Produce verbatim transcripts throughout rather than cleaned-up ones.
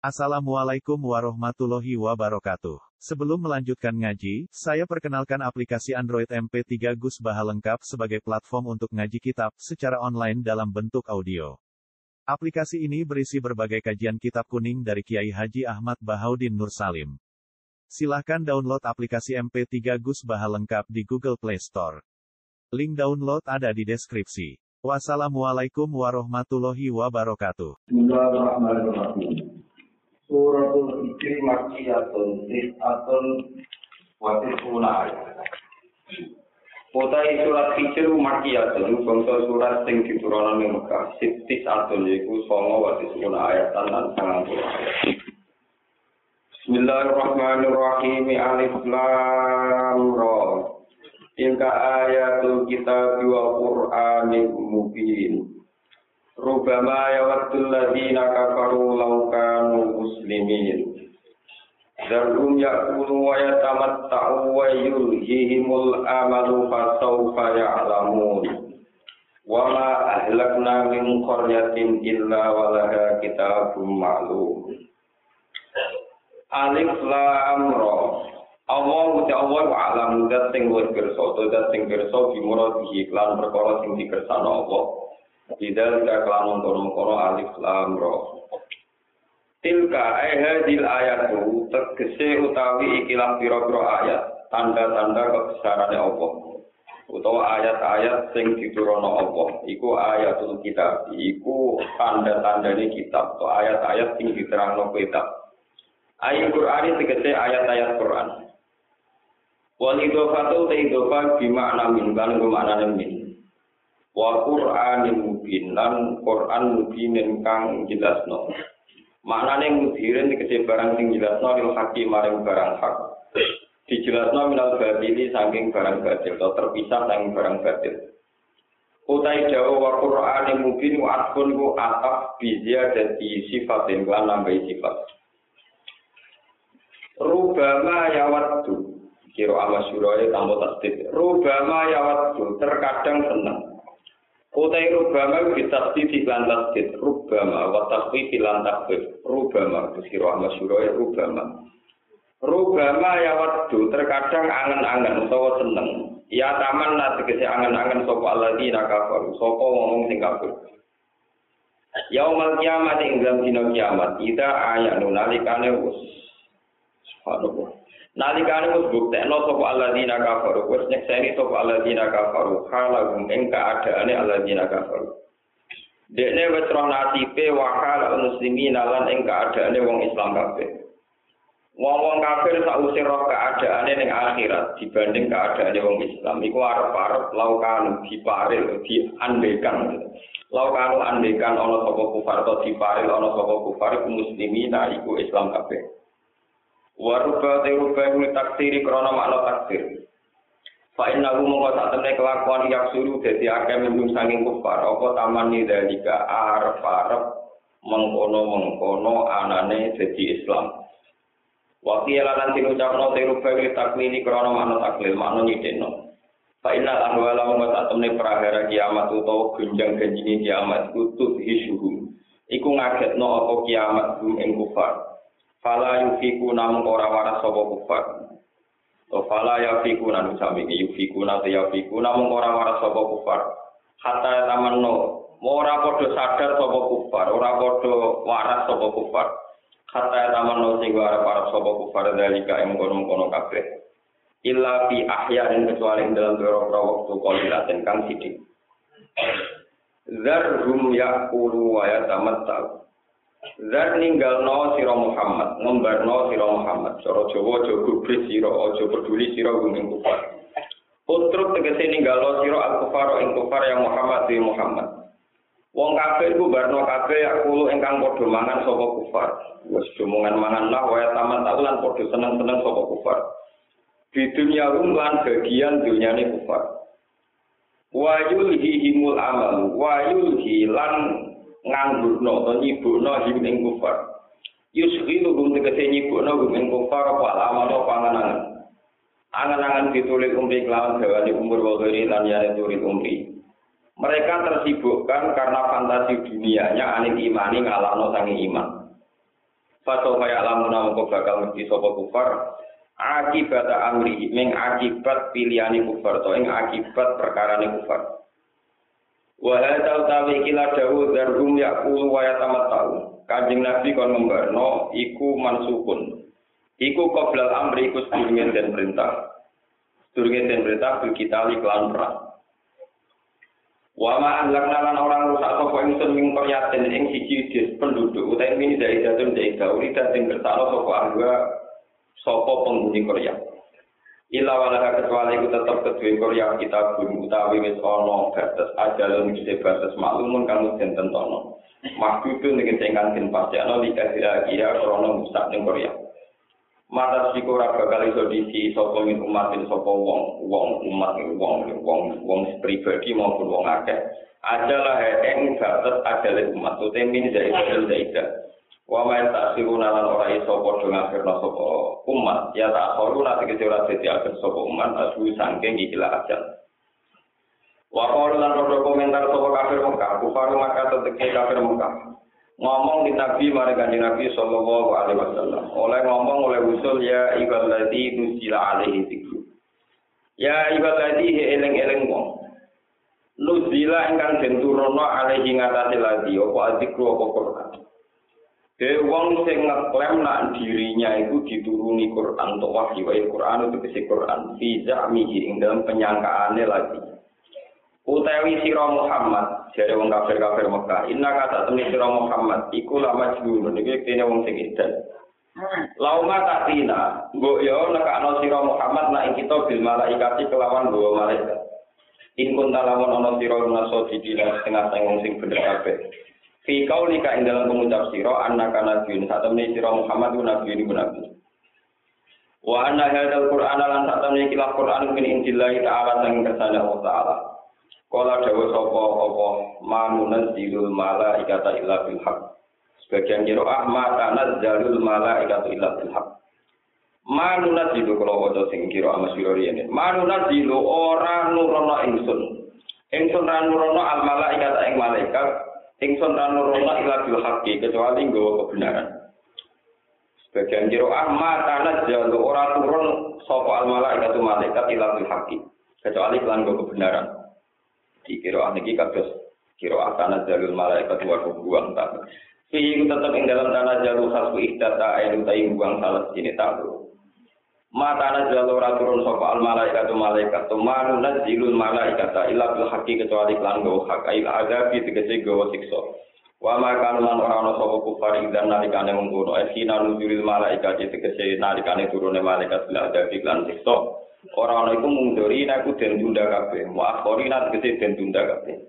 Assalamualaikum warahmatullahi wabarakatuh. Sebelum melanjutkan ngaji, saya perkenalkan aplikasi Android M P tiga Gus Baha lengkap sebagai platform untuk ngaji kitab secara online dalam bentuk audio. Aplikasi ini berisi berbagai kajian kitab kuning dari Kiai Haji Ahmad Bahaudin Nur Salim. Silahkan download aplikasi M P tiga Gus Baha lengkap di Google Play Store. Link download ada di deskripsi. Wassalamualaikum warahmatullahi wabarakatuh. Bismillahirrahmanirrahim. Suratul Hijri Makkiyatun Tis'atun wa Tis'una ayat. Utai surat Hijri Makkiyatun bangsa surat sing diturunkan ing Mekah Tis'atun yaiku sanga wa Tis'una ayat lan sangang puluh ayat. Bismillahirrahmanirrahim. Alif Lam Ra. Tilka ayatul kitab wa Qur'anil mubin. Rubama yawaddul ladzina kafaru law kanu muslimin. Zarhum ya'kulu wa yatamatta'u wa yulhihimul amalu fasawfa ya'lamun. Wa ma ahlakna min qaryatin illa walaha kitabun ma'lum. Alif Lam Ra. Allah uti Allah wa alam zat sing luwih pirsa, zat sing pirsa bimuradihi lan perkara sing dikersakno Allah. Tidak kelan kono-kono alif lam ra. Tilka ayhatil ayatu tegese utawi ikilah pira-pira ayat, tanda-tanda kebesarane Allah. Utawa ayat-ayat sing diturunno Allah, iku ayatul kitab, iku tanda-tandane kitab, atau ayat-ayat sing diterangno kitab. Ayat Qur'an tegese ayat-ayat Qur'an. Wal idhofatu ta'idhofa bimakna min kan maknane min. Wa Qur'anil mubin lan Qur'an mubin kang jelasno. Maknane mudirin tegese barang sing jelasno lil hakim maring barang hak. Dijelasno minal batili saking barang batil atau terpisah saking barang batil. Utai dawa wa Qur'anil mubin wa atfun ku ataf bi ziyadati sifatin lan nambahi sifat. Rubama yawaddu kira amasyurae tanpa tasdid. Rubama yawaddu terkadang seneng. Utai rubama bitasdid lan tasdid. Rubama wa tasdid lan tasdid. Rubama kira amasyurae rubama. Rubama yawaddu terkadang angen-angen utawa seneng. Ya taman tegese angen-angen sapa alladzina kafaru, sapa wong sing kafir. Yaumal kiamat ing dalam dina kiamat, ida ayanu nalikane wis subhanallah. Nalikane wis buktekno sapa alladzina kafaru, wis nyekseni sapa alladzina kafaru, halahum ing kaadaane alladzina kafaru. Dekne wis roh nasibe wa halal muslimin lan ing kaadaane wong Islam kabeh. Wong-wong kafir sausé roh kaadaane ning akhirat dibanding kaadaane wong Islam iku arep-arep laukanu diparil diandekan. Laukanu andekan ana sapa kufar to diparil ana sapa kufar muslimin iku Islam kabeh. Waruba teruba kulit taksiri krono makna taksir. Fa inna hu mongko sak temne kelakuan yak suruh dadi akeh mendung saking kufar apa taman ni dalika arep-arep mengkono-mengkono anane dadi Islam. Wa qila lan diucapno teruba kulit takwili krono makna taklil makna nyideno. Fa inna ahwala mongko sak temne prahara kiamat utawa gunjang-ganjine kiamat kutub hisuhum. Iku ngagetno apa kiamat hum ing kufar. Fala yufiku namung ora waras sapa kufar. To fala yufiku nang sami yufiku nate yufiku namung ora waras sapa kufar. Hatta tamanno ora padha sadar sapa kufar, ora padha waras sapa kufar. Hatta tamanno sing ora waras sapa kufar dalika ing kono-kono kabeh. Illa fi ahyain kecuali dalam beberapa waktu qalilaten kang sithik. Zarhum yaqulu wa yatamatta'u. Zat ninggalno sira Muhammad, ngombarno sira Muhammad. Cara Jawa aja gubris sira, aja peduli sira ing kufar. Putruk tegese ninggalno sira al-kufar ing kufar yang Muhammad di Muhammad. Wong kafir ku barno kabeh aku ingkang padha mangan sapa kufar. Wis omongan mangan lah wae taman taulan padha seneng-seneng sapa kufar. Di dunia lan bagian dunyane kufar. Wa yulhihimul amal, wa yulhilan nganggurno atau nyibukno him ing kufar. Yusghilu hum tegese nyibukno hum ing kufar apa amal apa angan-angan. Angan-angan ditulis umri kelawan gawane umur wogeri lan yane tulis umri. Mereka tersibukkan karena fantasi dunianya anil imani ngalahno sange iman. Fato kaya lamuna mongko bakal mesti sapa kufar akibat amri ming akibat pilihane kufar to ing akibat perkarane kufar. Wa hadza utawi kila dawu darum yaqulu wa yatamattau. Kanjeng Nabi kon ngembarno iku mansukun. Iku qoblal amri iku sedurunge den perintah. Sedurunge den perintah bil kita iklan perang. Wa ma anlakna lan orang rusak sapa ingsun ing qaryatin ing siji des penduduk utawi mini dari jatun dari gauri sing kersane sapa angga sapa penghuni qarya. Illa wala kecuali iku tetep kedue qarya kita guru utawi wis ana batas ajalun mesti batas maklumun kang den tentono. Maksudun ning tengkan den pasjakno dikira kira krana musak ning qarya. Mata siku ora bakal iso disi sapa min umat sapa wong wong umat wong wong wong pribadi maupun wong akeh adalah ing batas adale umat utawa min dari badal daida wa ma ta'siruna lan ora iso padha ngafirna sapa umat ya tak soru lan tegese ora dadi akhir sapa umat asu saking ikilah ajal wa qalu lan padha komentar sapa kafir Mekah kufar maka teteke kafir Mekah ngomong di Nabi mari kanjeng Nabi sallallahu alaihi wasallam oleh ngomong oleh usul ya ibadati nuzila alaihi dzikru ya ibadati eling-eling wong nuzila ingkang den turunna alaihi ngatasi lagi apa dzikru apa Quran de wong sing ngeklaim nak dirinya itu dituruni Quran untuk wahyu wa Quran itu kese Quran fi za'mihi ing dalam penyangkaane lagi utawi sira Muhammad jare wong kafir-kafir Mekah inna kata temne sira Muhammad iku la majnun iki kene wong sing edan lauma tatina mbok yo nekakno sira Muhammad nek kita bil malaikati kelawan dua malaikat in kunta lamun ana sira naso didina setengah sing wong sing bener kabeh fi kaulika ing dalam pengucap sira annaka nabiyyun sak temne sira Muhammad ku nabi niku nabi wa anna hadzal qur'ana lan sak temne iki Qur'an min indillahi ta'ala sang kersane Allah taala. Kala dawa sapa apa manunan zilul malaikata illa bil haq. Sebagian qiraah ma tanazzalul malaikatu illa bil haq. Manunan zilu kala waca sing qiraah masyhur rene. Manunan zilu ora nurono ingsun. Ingsun ra nurono al malaikata ing malaikat, ingsun ra nurono illa bil haqqi kecuali nggawa kebenaran. Sebagian qiraah ma tanazzalu ora turun sapa al malaikatu malaikat illa bil haqqi kecuali lan nggawa kebenaran. Di kira niki kados kira tanah jalul malaikat wa buang tak. Fi tetap ing dalam tanah jalul khasbu ihdata ayu ta'i buang salah sini tahu. Ma tanah jalul raturun sapa al malaikatu malaikat tumanu nazilul malaikata illa bil haqqi kecuali lan go hak ail adabi tegese go siksa. Wa ma kan lan ora ana sapa kufar idan nalikane mungkono esina nuzulil malaikat tegese nalikane turune malaikat bil adabi lan siksa. Orang itu munduri naku den tunda kabeh, muakhori nat gede den tunda kabeh.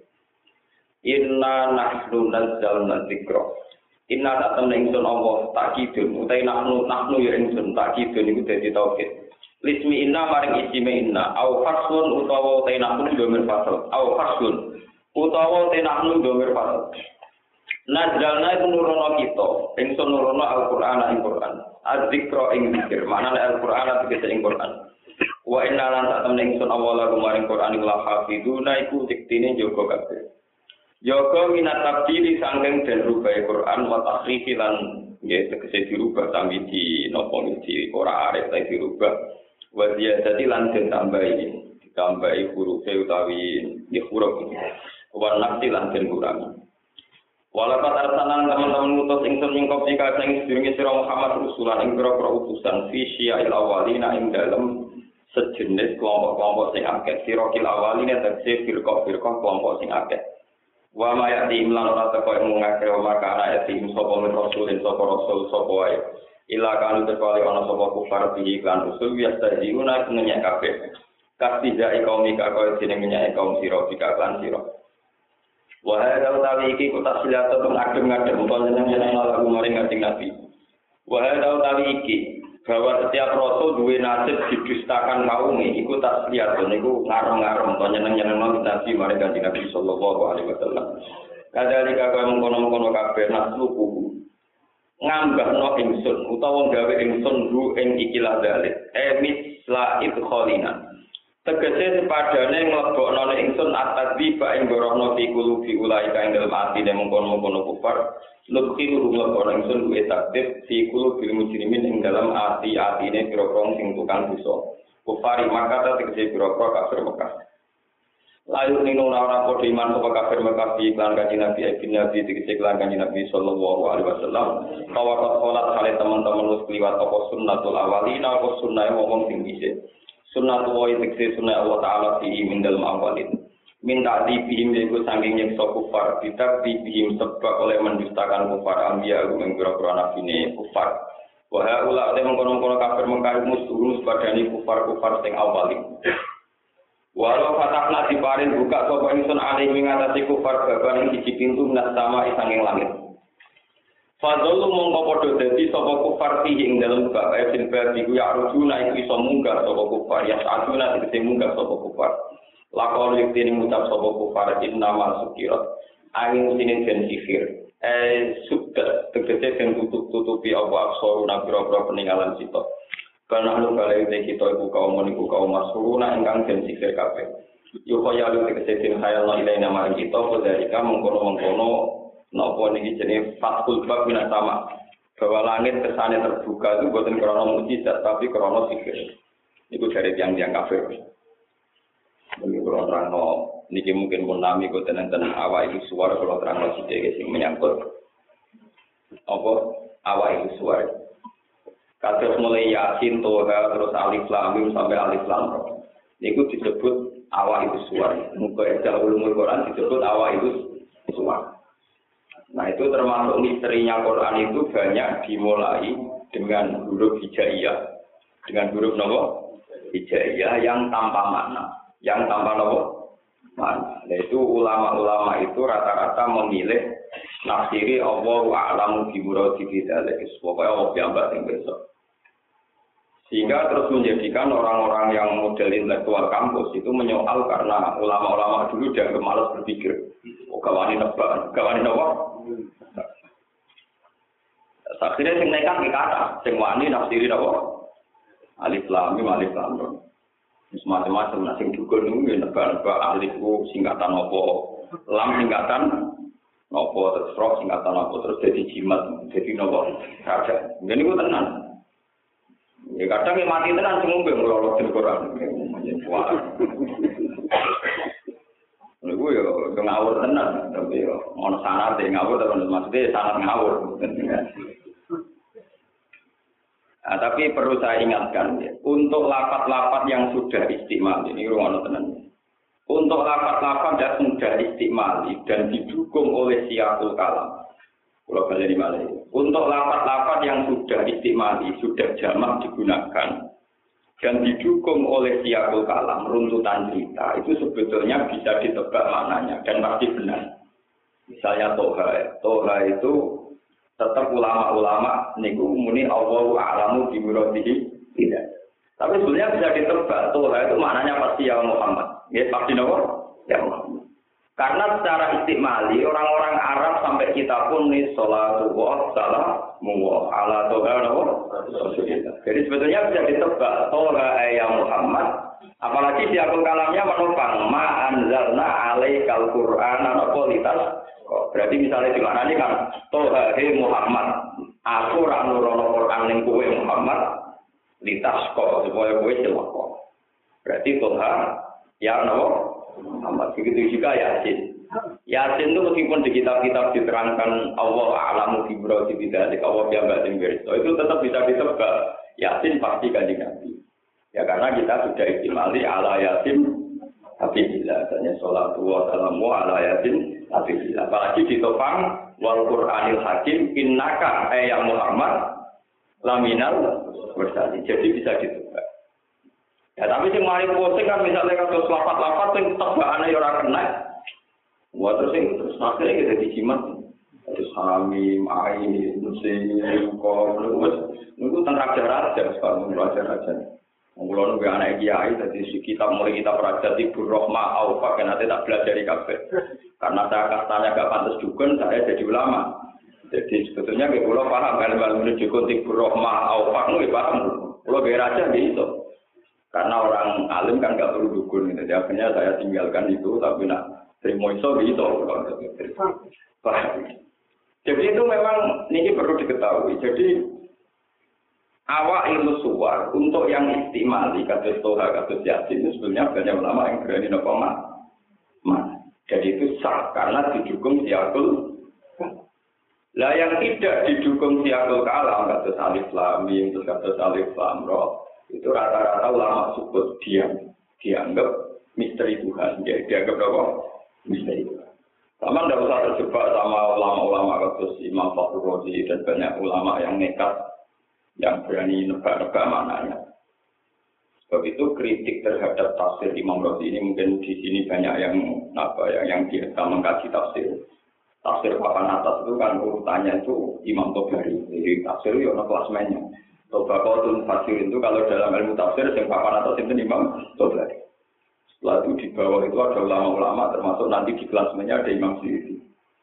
Inna nahnu nazzalna dzikra. Inna tak temen ingsun Allah takidun, utai nahnu nahnu ya ingsun takidun iku dadi tauhid. Lismi inna maring isime inna, au faslun utawa utai nahnu domir fasl, au faslun utawa utai nahnu domir fasl. Nazzalna iku nurono kita, ingsun nurono Al-Qur'an ing Qur'an. Az-dzikra ing dzikir, maknane Al-Qur'an tegese ing Qur'an. Wa inna lan sak temne ingsun awala kumaring Quran ing lahafiduna iku diktine jaga kabeh. Jaga minat tabdili sangking den rubah Quran wa tahrifi lan nggih tegese dirubah tambi di napa di ora arep ta dirubah. Wa ziyadati lan den tambahi ditambahi huruf utawi nggih huruf. Wa nafsi lan den kurangi. Walakat arsalan teman-teman ngutus ingsun ing kopi kacang sedurunge sira Muhammad rusulan ing pira-pira utusan fi syia'il awalina ing dalem sejenis kelompok-kelompok sing akeh sirokil awaline tegese firqah-firqah kelompok sing akeh wa ma ya'ti imlan ora teko ing ngake wa makana ya'ti sapa min rasulin sapa rasul sapa wae ila kanu terkali ana sapa kufar bihi lan rasul biasa diuna menyek kabeh kastija kaum ika kaya dene menyek kaum sira bika lan sira wa hadza utawi iki kutak silata teng adem-adem panjenengan lagu maring kanjeng Nabi wa hadza utawi iki bahwa setiap rasul duwe nasib didustakan kaume iku tak lihat niku ngarem-ngarem to nyeneng-nyenengno Nabi marang kanjeng Nabi sallallahu alaihi wasallam. Kadalika kaya mengkono-mengkono kabeh nasluku ngambahno ingsun utawa gawe ingsun ru ing ikilah dalil emis la idkhalina Tegese sepadane nglebokno ingsun at-tadziba ing gorono fi qulubi ulaika ing dalem atine mengkono-mengkono kufar lukhi nglebokno ingsun kuwi takdir fi qulubil mujrimin ing dalem ati-atine pira-pira sing tukang dosa kufari maka tegese pira-pira kafir Mekah layu nino ora padha iman sapa kafir Mekah fi iklan kanjeng Nabi ibn Nabi tegese iklan kanjeng Nabi sallallahu alaihi wasallam tawakal salat kali teman-teman wis kliwat apa sunnatul awalina apa sunnahe wong sing dhisik sunnah wa ikse sunnah Allah Ta'ala fi min dalam awalin minta dibihim yaitu saking nyeksa kufar tidak dibihim sebab oleh mendustakan kufar ambia yang berapa nabi ini kufar wahai ulah oleh mengkono-kono kafir mengkarit musuh padani kufar-kufar sing awalin walau fatahna diparin buka sopa ingsun alih mengatasi kufar baban yang siji pintu minas sama isanging langit Fadlu mongko padha dadi sapa kufar fihi ing dalem bab ayat bab iku ya rujuna iku iso munggah sapa kufar ya saduna tegese munggah sapa kufar lakon yektene ngucap sapa kufar inna masukirat angin sinin den sihir eh sudah tegese den tutup-tutupi apa aksara pira-pira peninggalan sita kana lu kale kita iku kaum niku kaum masuruna ingkang den sihir kabeh yo kaya lu tegese den khayal ilaina marang kita padha mengkono-mengkono napa niki jenenge fatul bab minas sama bahwa langit kesane terbuka itu bukan krana mukjizat tapi krana sihir niku dari tiang-tiang kafir niki kula terangno niki mungkin pun nami kok tenen awak iki suara kula terangno sithik sing menyangkut apa awak iki suara kados mulai yasin toha terus alif lam mim sampai alif lam ra niku disebut awak itu suara muga ejal ulumul Quran disebut awak itu suara. Nah itu termasuk misterinya Quran itu banyak dimulai dengan huruf hijaiyah, dengan huruf nopo hijaiyah yang tanpa makna, yang tanpa nopo makna. Nah itu ulama-ulama itu rata-rata memilih nafsiri Allahu a'lamu bi muradi bidzalik, pokoknya Allah piambak yang besok. Sehingga terus menjadikan orang-orang yang model intelektual kampus itu menyoal karena ulama-ulama dulu dianggap malas berpikir. Oh gawani nebak, gawani nopo. Akhirnya sing nekat iki kata, sing wani nafsiri apa? Alif lam mim alif lam ra. Wis macam-macam nah sing dukun niku nebak-nebak alif ku singkatan apa? Lam singkatan apa terus ro singkatan apa terus jadi jimat, jadi napa? Raja. Ngene iku tenan. Ya kadang yang mati tenan sing ngombe nglolot di Quran. Niku yo ngawur tenan, tapi yo ono sanad ngawur terus maksudnya sanad ngawur. Nah, tapi perlu saya ingatkan ya, untuk lapat-lapat yang sudah istimal ini ruang tenan. Untuk lapat-lapat yang sudah istimal dan didukung oleh siapul kalam. Kalau kalian dimana? Untuk lapat-lapat yang sudah istimal, sudah jamak digunakan dan didukung oleh siapul kalam, runtutan cerita itu sebetulnya bisa ditebak maknanya dan pasti benar. Misalnya toha, toha itu tetap ulama-ulama niku muni Allahu a'lamu bi muradihi tidak. Tapi sebenarnya bisa ditebak toha itu maknanya pasti ya Muhammad. Ya pasti nopo? Ya Muhammad. Karena secara istimali orang-orang Arab sampai kita pun nih sholatu wa salamu ala toha nopo? Jadi sebetulnya bisa ditebak toha ya Muhammad. Apalagi di akun kalamnya menopang ma anzalna alaikal qur'ana nopo litas. Oh, berarti misalnya di mana ini kan toha he Muhammad aku ora nurono Quran ning kowe Muhammad litas kok supaya kowe celaka. Berarti toha ya no Muhammad begitu juga Yasin. Yasin itu meskipun di kitab-kitab diterangkan Allah a'lamu bi muradi bidzalik Allah piambak sing pirsa itu tetap bisa ditebak Yasin pasti kanjeng Nabi. Ya karena kita sudah istimali ala Yasin tapi bila adanya sholatu wa salamu ala Yasin tapi bila apalagi ditopang wal Qur'anil Hakim innaka ya Muhammad laminal mursalin jadi bisa ditebak. Ya tapi sing mari posting kan misalnya kados lapat-lapat sing tebakane ya ora kena. Wah terus sing terus akhirnya kita dijimat terus hamim ain musim kok niku tentang raja-raja sekarang raja-raja. Mulai nunggu anak kiai, jadi kita mulai kita raja Tibur Rohma, Aufak, yang nanti tak belajar di kafe. Karena saya kastanya gak pantas dukun, saya jadi ulama. Jadi sebetulnya kita pulau paham, kalau menuju Tibur Rohma, Aufak, nunggu paham. Pulau gaya raja gitu. Karena orang alim kan nggak perlu dukun, gitu. Jadi akhirnya saya tinggalkan itu, tapi nak terima iso gitu. Jadi itu memang ini perlu diketahui. Jadi awak ilmu suwar untuk yang istimali kata Toha kata Yasin itu sebenarnya banyak ulama yang berani nopo mak. Jadi itu sah karena didukung siakul. Lah yang tidak didukung siakul kalam kata Alif Lam Mim terus kata Alif Lam Ra. Itu rata-rata ulama sebut diam, dianggap misteri Tuhan, dia dianggap apa? Misteri Tuhan. Sama tidak usah terjebak sama ulama-ulama kasus Imam Fakhrul Razi dan banyak ulama yang nekat, yang berani nebak-nebak maknanya. Sebab itu kritik terhadap tafsir Imam Razi ini mungkin di sini banyak yang apa ya, yang biasa mengkaji tafsir. Tafsir papan atas itu kan urutannya itu Imam Tobari, jadi tafsir itu ada klasmennya. Tobaqatul Fasir itu kalau dalam ilmu tafsir yang papan atas itu Imam Tobari. Setelah itu di bawah itu ada ulama-ulama termasuk nanti di kelasmennya ada Imam Suyuti.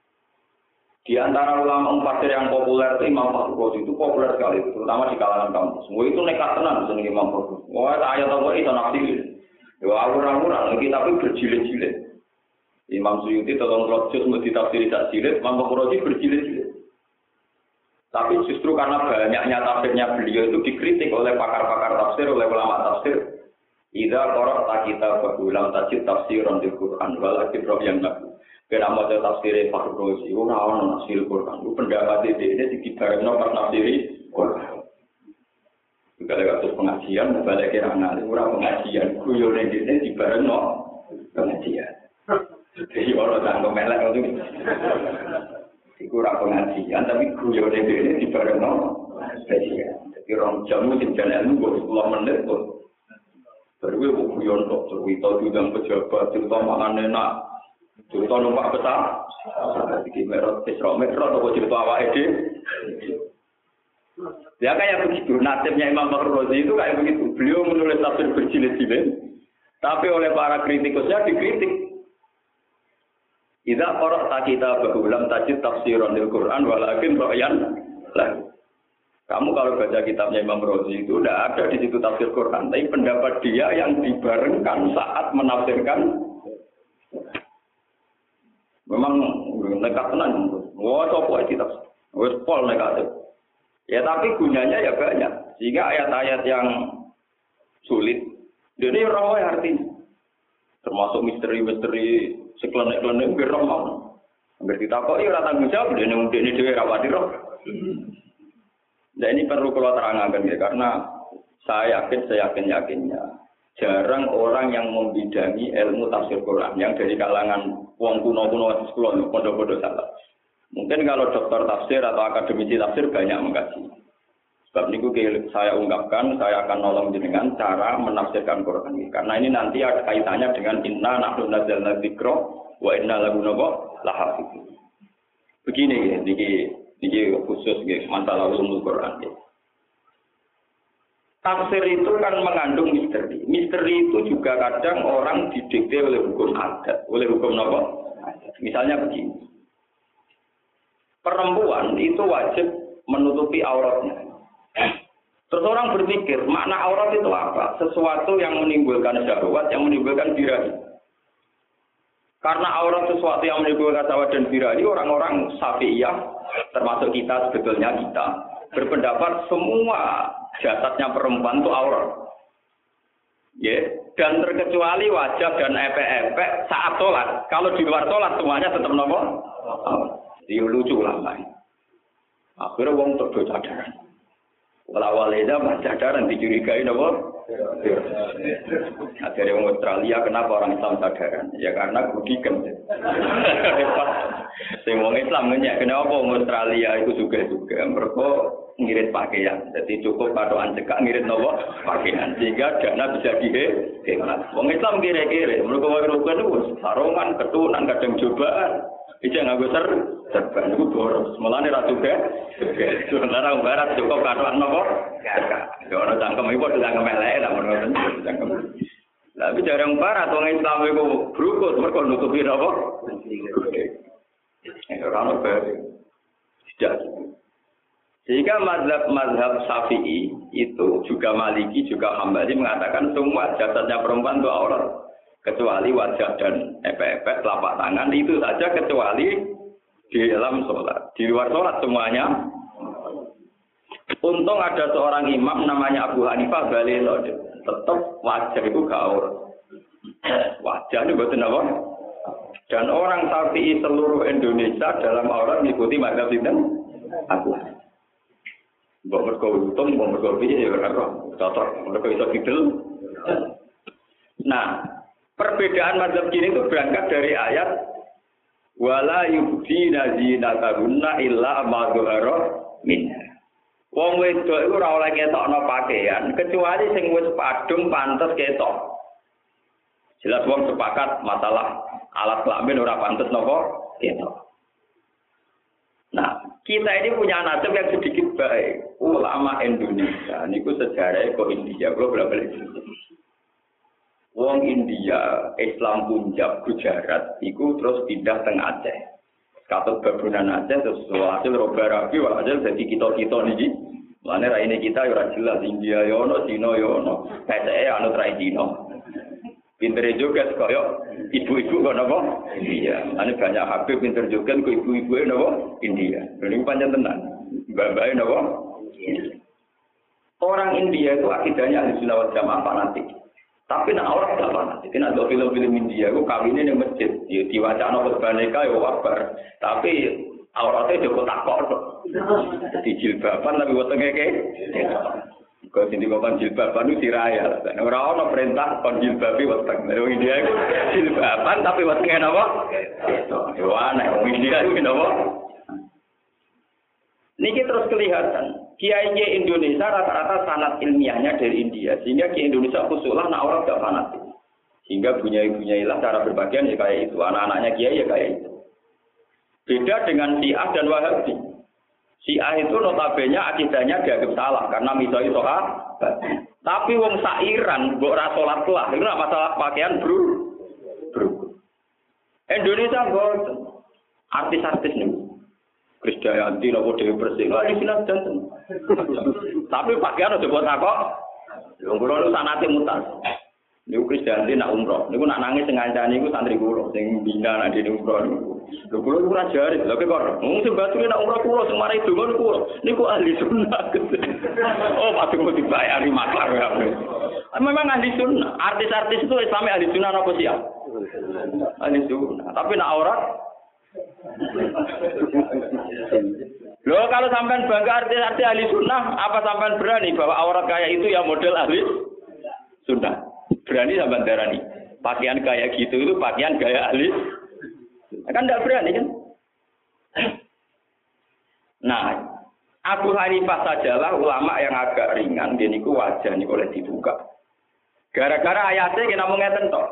Di antara ulama tafsir yang populer itu Imam Fakhrul Razi itu populer sekali, terutama di kalangan kampus. Semua itu nekat tenan dengan Imam Fakhrul. Wah, ayat apa itu nafsirin. Ya awur-awuran lagi tapi berjilid-jilid. Imam Suyuti tolong rojus mau ditafsiri tak jilid, Imam Fakhrul Razi berjilid-jilid. Tapi justru karena banyaknya tafsirnya beliau itu dikritik oleh pakar-pakar tafsir, oleh ulama tafsir. Idza qara'ta kitab ulam tajid tafsiran di Quran wal kitab yang laku. Kena maca tafsir Fakhrul Razi ora ono tafsir Quran. Lu pendapat ini dikibarno pas tafsiri Quran. Juga ada kasus pengajian, balik kira anak ora pengajian, guyone dene dibarno pengajian. Jadi orang tanggung melek itu. Iku ora pengajian tapi guyone dene dibarengno spesial. Jadi rong jam mungkin jalan ilmu sepuluh menit kok. Baru gue guyon kok cerita bidang pejabat, cerita makan enak, cerita numpak besar. Iki merot Isra Mi'raj atau cerita awake dhewe. Ya kayak begitu, nasibnya Imam Fakhrul Razi itu kayak begitu. Beliau menulis tafsir berjilid-jilid, tapi oleh para kritikusnya dikritik. Idza qara'ta kitab ulam tajid tafsiran lil Quran walakin ra'yan lah. Kamu kalau baca kitabnya Imam Razi itu tidak ada di situ tafsir Quran, tapi pendapat dia yang dibarengkan saat menafsirkan. Memang nekat tenan. Wah, coba itu tafsir. Wes pol nekat. Ya tapi gunanya ya banyak. Sehingga ayat-ayat yang sulit, ini rawa artinya. Termasuk misteri-misteri seklenek-klenek gerong mau. Hampir ditakoki ora tanggung jawab dene mudine dhewe ra pati roh. Nah ini perlu kalau terangkan ya, karena saya yakin, saya yakin-yakinnya jarang orang yang membidangi ilmu tafsir Quran yang dari kalangan wong kuno-kuno sekolah pondok-pondok salah. Mungkin kalau dokter tafsir atau akademisi tafsir banyak mengkaji. Sebab ini saya ungkapkan, saya akan nolong dengan cara menafsirkan Quran ini. Karena ini nanti ada kaitannya dengan inna nahnu nazzalna dzikra wa inna lahu lahafizun. Begini ini ini khusus masalah ulumul Quran. Tafsir itu kan mengandung misteri. Misteri itu juga kadang orang didikte oleh hukum adat, oleh hukum apa? Misalnya begini. Perempuan itu wajib menutupi auratnya. Terus orang berpikir, makna aurat itu apa? Sesuatu yang menimbulkan syahwat, yang menimbulkan birahi. Karena aurat sesuatu yang menimbulkan syahwat dan birahi, orang-orang Syafi'iyah termasuk kita sebetulnya kita berpendapat semua jasadnya perempuan itu aurat. Ya, dan terkecuali wajah dan epek-epek saat sholat. Kalau di luar sholat semuanya tetap nopo. Dia lucu lah main. Akhirnya wong untuk do cadaran. Walawaleda mas cadaran dicurigai nopo. Akhirnya orang Australia kenapa orang Islam cadaran? Ya karena gudikan. Sing wong Islam nanya kenapa orang Australia itu juga juga mereka ngirit pakaian. Jadi cukup patokan cekak ngirit nopo pakaian sehingga dana bisa dihemat. Wong Islam kira-kira mereka wae-wae itu sarungan, ketunan, kadang cobaan. Ija nganggo ser serban iku boros. Mulane ra juga. Sementara wong barat cukup katokan nopo? Ya ora cangkem iku padha cangkem elek lah ngono cangkem. Lah iki jarang barat wong Islam iku brukut mergo nutupi napa? Ya ora ono bae. Tidak. Sehingga mazhab-mazhab Syafi'i itu juga Maliki juga Hambali mengatakan semua jasadnya perempuan itu aurat kecuali wajah dan epek-epek telapak tangan itu saja kecuali di dalam sholat. Di luar sholat semuanya. Untung ada seorang imam namanya Abu Hanifah Balilo, tetap wajah itu gak aurat. Wajah itu betul apa? Dan orang Syafi'i seluruh Indonesia dalam aurat mengikuti mazhab itu Abu Hanifah. Mbok mergo untung, mbok mergo piye ya ora cocok, mergo iso kidul. Nah, perbedaan mazhab kini itu berangkat dari ayat wala yubdina zinatahunna illa ma dhahara minha. Wong wedok iku ora oleh ketokno pakaian kecuali sing wis padung pantes ketok. Jelas wong sepakat masalah alat kelamin ora pantes napa ketok. Nah, kita ini punya nasib yang sedikit baik. Ulama Indonesia, niku sejarahnya kok India, kalau balik Wong India, Islam Punjab, Gujarat, niku terus pindah teng Aceh. Katut babunan Aceh, terus hasil roba rabi, hasil jadi kita-kita niki. Mana raine kita ora jelas India yono, Cina yono, kayak anu trai Cina. Pinter juga kaya ibu-ibu kok napa? India. Ane banyak Habib pinter juga kok ibu-ibu napa? India. Ini panjang tenan. Mbak-mbak napa? Orang India itu akidahnya ahli sunnah wal jamaah fanatik. Tapi nak orang tidak fanatik. Nak do film-film India itu kawinnya di masjid. Ya diwacana khutbahnya kaya wabar. Tapi auratnya joko takok. Di jilbaban tapi wetenge ke. Kau sini kau kan jilbaban itu siraya. Orang orang perintah kon jilbabi weteng. Orang India itu jilbaban tapi wetengnya apa? Itu aneh. Orang India itu apa? Niki terus kelihatan. Kiai Indonesia rata-rata sanad ilmiahnya dari India. Sehingga Kiai Indonesia khususlah nak orang tidak fanatik. Sehingga bunyai-bunyailah cara berbagian ya kayak itu. Anak-anaknya Kiai ya kayak itu. Beda dengan Syiah dan Wahabi. Syiah itu notabene akidahnya dianggap salah karena misoi soal. Tapi wong sairan mbok ora salat lah, itu masalah pakaian bro. Bro. Indonesia mboten. Artis-artis nih. Krisdayanti nopo Dewi Persik. Lah di silang janten. Tapi pakaian aja buat takok. Wong kula nu sanate mutas. Niku Krisdayanti nak umroh. Niku nak nangis sing ngancani niku santri kula sing bina nak dene umroh niku. Lho kula ora jare, lha kok wong sing batune nak umroh kula sing mari donga niku kula. Niku ahli sunnah. Oh, pasti mau dibayari maklar ya. Memang ahli sunnah. Artis-artis itu Islam ahli sunnah apa sih ya? Ahli sunnah. Tapi nak aurat loh, kalau sampean bangga artis-artis ahli sunnah, apa sampean berani bahwa aurat kayak itu ya model ahli sunnah? Berani sampean darani pakaian kayak gitu itu pakaian gaya ahli? Kan tidak berani kan? Nah, Abu Hanifah sajalah ulama yang agak ringan, dia niku wajah niku oleh dibuka. Gara-gara ayatnya kita mau ngeten toh.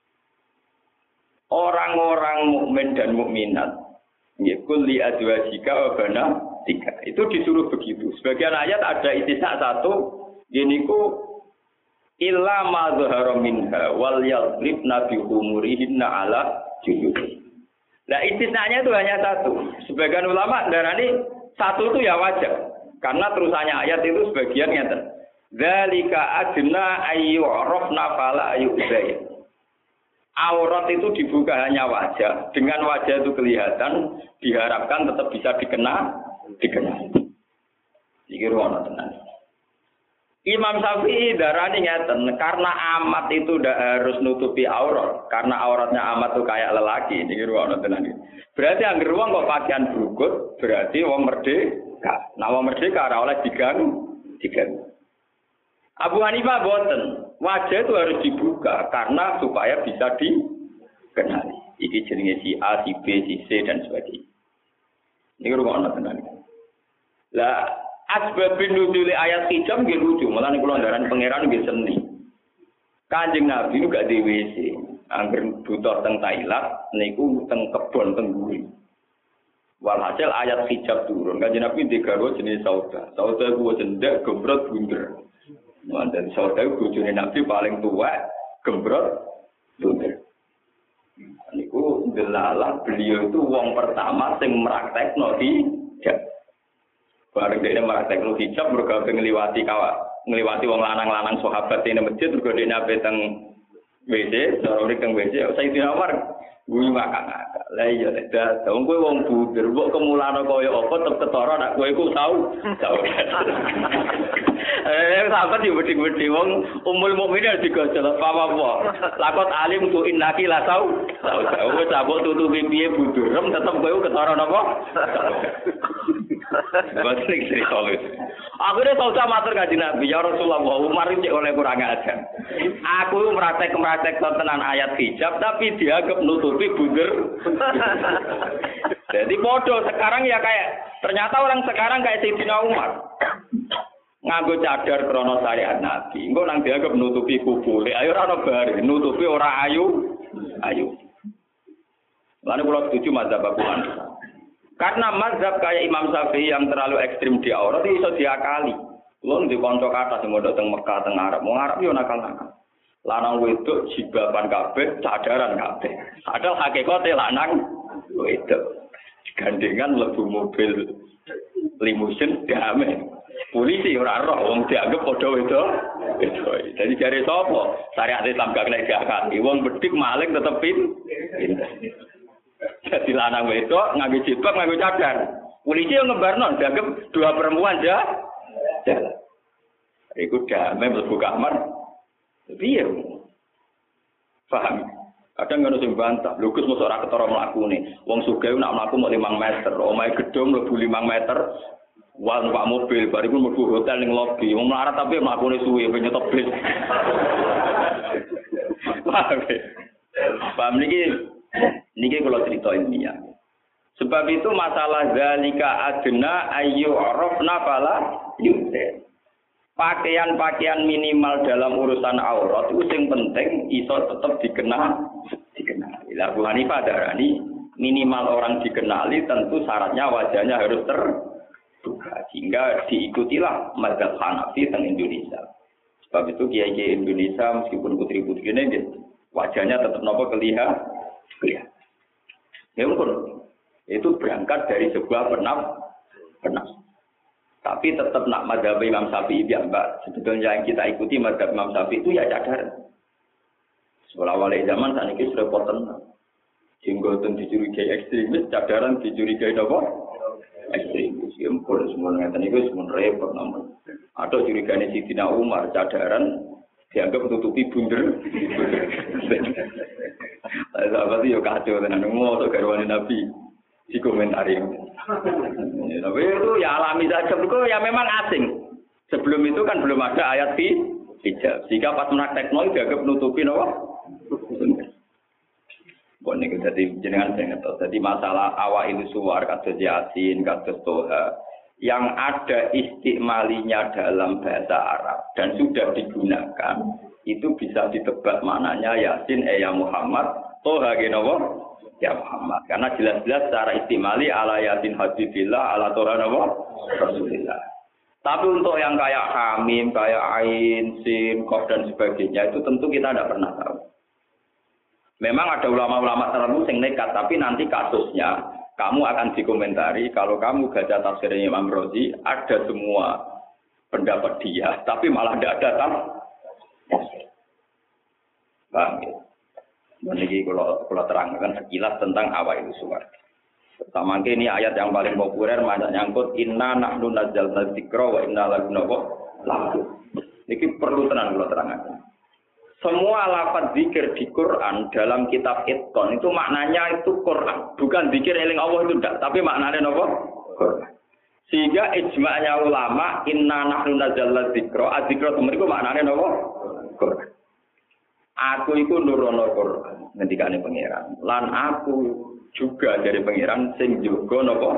Orang-orang mukmin dan mukminat, yaitu li azwajika wa banatika. Itu disuruh begitu. Sebagian ayat ada istisna satu, yaitu illa ma dhahara minha wal yadribna bi umurihinna ala juyubi. Nah, istisnanya itu hanya satu. Sebagian ulama darani satu itu ya wajar. Karena terusannya ayat itu sebagian ngeten. Dzalika adna ayyurafna fala yu'zai. Aurat itu dibuka hanya wajah. Dengan wajah itu kelihatan, diharapkan tetap bisa dikenal, dikenal. Iki ruwana tenan. Imam Syafi'i darani ngeten, karena amat itu tidak harus nutupi aurat, karena auratnya amat itu kayak lelaki. Iki ruwana tenan. Berarti angger wong kok pakaian brukut, berarti wong merdeka. Nah, wong merdeka ora oleh diganggu, diganggu. Abu Hanifah boten, wajah itu harus dibuka karena supaya bisa dikenali. Iki jenenge si A, si B, si C dan sebagainya. Ini rumah tenan. Lah asbabun nuzul ayat hijab nggih lucu, malah niku landaran pangeran nggih seni. Kanjeng Nabi niku gak di W C, angger butuh teng Thailand niku teng kebon teng buri. Walhasil ayat hijab turun. Kanjeng Nabi digawe jenis sauda. Sauda ku cendak gembrot bunder. Dan saudara bojone Nabi paling tua, gembrot, bunder. Niku delalah beliau itu wong pertama sing mraktekno hijab. Bareng dia praktek lu hijab mergo ngliwati kawak, ngliwati wong lanang-lanang sahabat ning masjid mergo dene ape teng W C, ora teng W C, Sayyidina Umar guyu ngakak-ngakak. Lah iya nek dadi kowe wong bunder, kok kemulane kaya apa tetep ketara nek kowe iku tau. Tau. Eh sahabat yo wedi-wedi wong umul mukminin digojol apa-apa. Lakot alim tu innaki la tau. Tau tau cabut tutupi piye budurem tetep kowe ketara napa? Basrik sri khalid. Akhirnya sausa matur kanjeng Nabi, ya Rasulullah, Umar iki oleh kurang ajar. Aku praktek-praktek tenan ayat hijab tapi dianggap nutupi bunder. Jadi bodoh sekarang ya kayak ternyata orang sekarang kayak Sayyidina Umar. Nganggo cadar krono syariat Nabi. Engko nang dianggap nutupi kubule. Ayo ora ono bar, nutupi ora ayu. Ayu. Lan kula setuju mazhab Abu Hanifah. Karena mazhab kayak Imam Syafi'i yang terlalu ekstrim di aurat itu bisa diakali. Lo di konco kata sing modal teng Mekah teng Arab, mau Arab yo nakal-nakal. Lanang wedok jibaban kabeh, cadaran kabeh. Padahal hakikate lanang wedok. Gandengan mlebu mobil limusin damai. Polisi ora roh wong dianggap padha wedok. Wedok. Jadi jare sapa? Syariat Islam gak kena diakali. Wong bedik maling tetep pin. Jadi lanang wedok nganggo jilbab nganggo cadar. Polisi yang ngebarno dianggap dua perempuan aja. Jalan. Iku damai mlebu kamar. Piye? Paham? Kadang ngono sing bantah, lho Gus mosok ora ketara mlakune. Wong sugih nak mlaku mok lima meter, omahe gedung mlebu lima meter. Wah, numpak mobil, bariku mlebu hotel ning lobi. Wong melarat tapi mlakune suwe penyetop bis. Paham? Paham niki? Niki kalau cerita ilmiah. Sebab itu masalah zalika adna ayu arafna fala yusir. Pakaian-pakaian minimal dalam urusan aurat itu yang penting iso tetap dikenal, dikenali. Abu Hanifah darani minimal orang dikenali tentu syaratnya wajahnya harus terbuka sehingga diikutilah mazhab Hanafi teng Indonesia. Sebab itu kiai-kiai Indonesia meskipun putri-putrinya wajahnya tetap nopo kelihatan. Kelihatan. Ya pun itu berangkat dari sebuah penaf, penaf. Tapi tetap nak mazhab Imam Syafi'i ya Mbak. Sebetulnya yang kita ikuti mazhab Imam Syafi'i itu ya cadar. Sekolah wali zaman saat ini sudah poten. Jenggotan dicurigai ekstremis, cadaran dicurigai apa? Ekstremis. Ya pun semua ngeten itu semua repot namun. Atau curiganya Sidina Umar cadaran dianggap tutupi bunder. Sahabat itu kacau tenan ngomong atau garwane Nabi di komentari. Tapi itu ya alami saja, itu ya memang asing. Sebelum itu kan belum ada ayat hijab. Jika pas praktekno dianggap nutupi apa? Bon niku dadi jenengan sing ngertos. Dadi masalah awak itu suwar kados Yasin, kados Toha yang ada istikmalinya dalam bahasa Arab dan sudah digunakan itu bisa ditebak maknanya Yasin eh ya Muhammad, Toha genowo ya Muhammad. Karena jelas-jelas secara istimali ala Yasin Habibillah, ala Toha nopo Rasulillah. Tapi untuk yang kayak Hamim, kayak Ain, Sin, Qaf dan sebagainya itu tentu kita tidak pernah tahu. Memang ada ulama-ulama tertentu yang nekat, tapi nanti kasusnya kamu akan dikomentari kalau kamu baca tafsirnya Imam Razi ada semua pendapat dia, tapi malah tidak ada tafsir. Paham ya? Ini kalau kalau terangkan sekilas tentang awal itu suara. Pertama ini ayat yang paling populer banyak nyangkut inna nahnu nazzalna dzikra wa inna lahu lahafidz. Ini perlu tenang kalau terangkan. Semua lafaz zikir di Quran dalam kitab Itqan itu maknanya itu Quran, bukan zikir eling Allah itu tidak, tapi maknanya apa? Quran. Sehingga ijma'nya ulama inna nahnu nazzalna dzikra, adzikra itu maknanya apa? Quran. Aku itu nurono Quran, ngendikane pangeran. Lan aku juga dari pangeran sing jaga napa?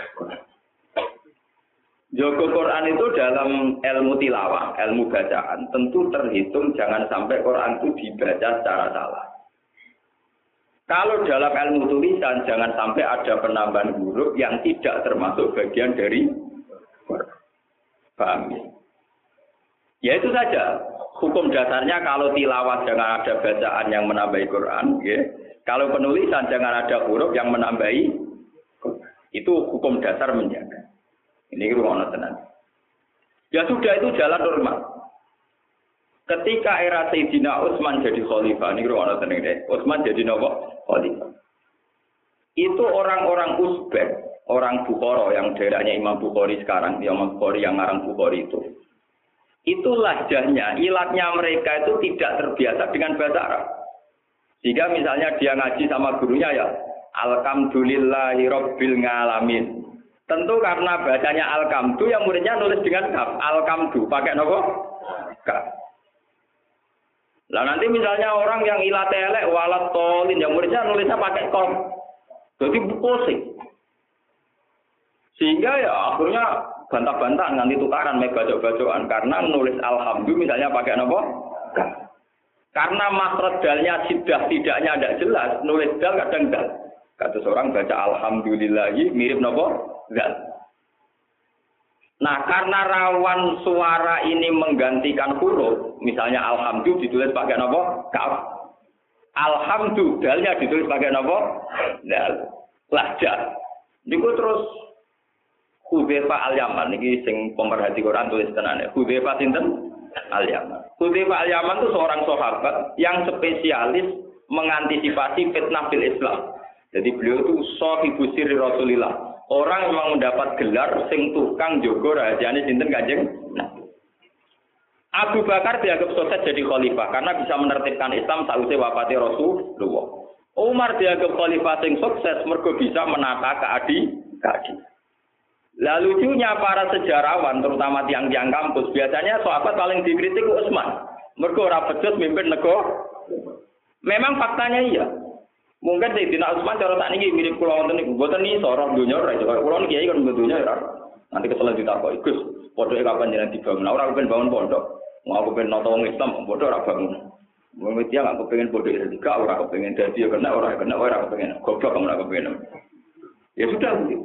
Jaga Quran itu dalam ilmu tilawah, ilmu bacaan, tentu terhitung jangan sampai Quran itu dibaca secara salah. Kalau dalam ilmu tulisan jangan sampai ada penambahan huruf yang tidak termasuk bagian dari Quran. Paham ya? Ya itu saja. Hukum dasarnya kalau tilawah jangan ada bacaan yang menambahi Quran, ya. Kalau penulisan jangan ada huruf yang menambahi Quran. Itu hukum dasar menjaga. Ini ruang tenan. Ya sudah itu jalan normal. Ketika era Sayyidina Utsman jadi khalifah, ini ruang tenan deh. Utsman jadi nopo khalifah. Itu orang-orang Uzbek, orang Bukhara yang daerahnya Imam Bukhari sekarang, Imam Bukhari yang ngarang Bukhari itu. Itu lahjahnya, ilatnya mereka itu tidak terbiasa dengan bahasa Arab. Jika misalnya dia ngaji sama gurunya ya, Alhamdulillahi Rabbil Ngalamin. Tentu karena bacanya Alkamdu yang muridnya nulis dengan kaf. Alkamdu pakai nopo? Kaf. Lah nanti misalnya orang yang ilat elek walat tolin yang muridnya nulisnya pakai kom. Jadi pusing. Sehingga ya akhirnya bantah-bantahan nganti tukaran mek bacok-bacokan karena nulis Alhamdu misalnya pakai nopo? Kaf. Karena makhraj dalnya sidah tidaknya tidak jelas, nulis dal kadang dal. Kata seorang baca Alhamdulillahi mirip nopo? Dal. Nah, karena rawan suara ini menggantikan huruf, misalnya Alhamdu ditulis pakai nopo? Kaf. Alhamdu dalnya ditulis pakai nopo? Dal. Lahjah. Niku terus Hudzaifah Al-Yaman niki sing pemerhati Quran tulis tenane. Hudzaifah sinten? Al-Yaman. Hudzaifah Al-Yaman itu seorang sahabat yang spesialis mengantisipasi fitnah fil Islam. Jadi beliau itu sahibu sirri Rasulillah. Orang yang memang mendapat gelar sing tukang jogo rahasiane sinten Kanjeng Nabi. Abu Bakar dianggap sukses jadi khalifah karena bisa menertibkan Islam sausé wafate Rasulullah. Umar dianggap khalifah sing sukses mergo bisa menata keadilan. Lalu lucunya para sejarawan, terutama tiang-tiang kampus, biasanya sahabat paling dikritik Utsman. Mergo ora becus mimpin negara. Memang faktanya iya. Mungkin Sayyidina Utsman cara tak niki mirip kula wonten niku, mboten iso ora donya ora iso. Kula niki kiai kan donya ora. Nanti kesel ditakoki, Gus, pondoke kapan jenengan dibangun? Ora kepen bangun pondok. Mau aku pengen nonton wong Islam, pondok ora bangun. Wong dia enggak kepengin pondok tiga, ora kepengin dadi ya kena ora kena ora kepengin. Goblok kamu ora kepengin. Ya sudah begitu.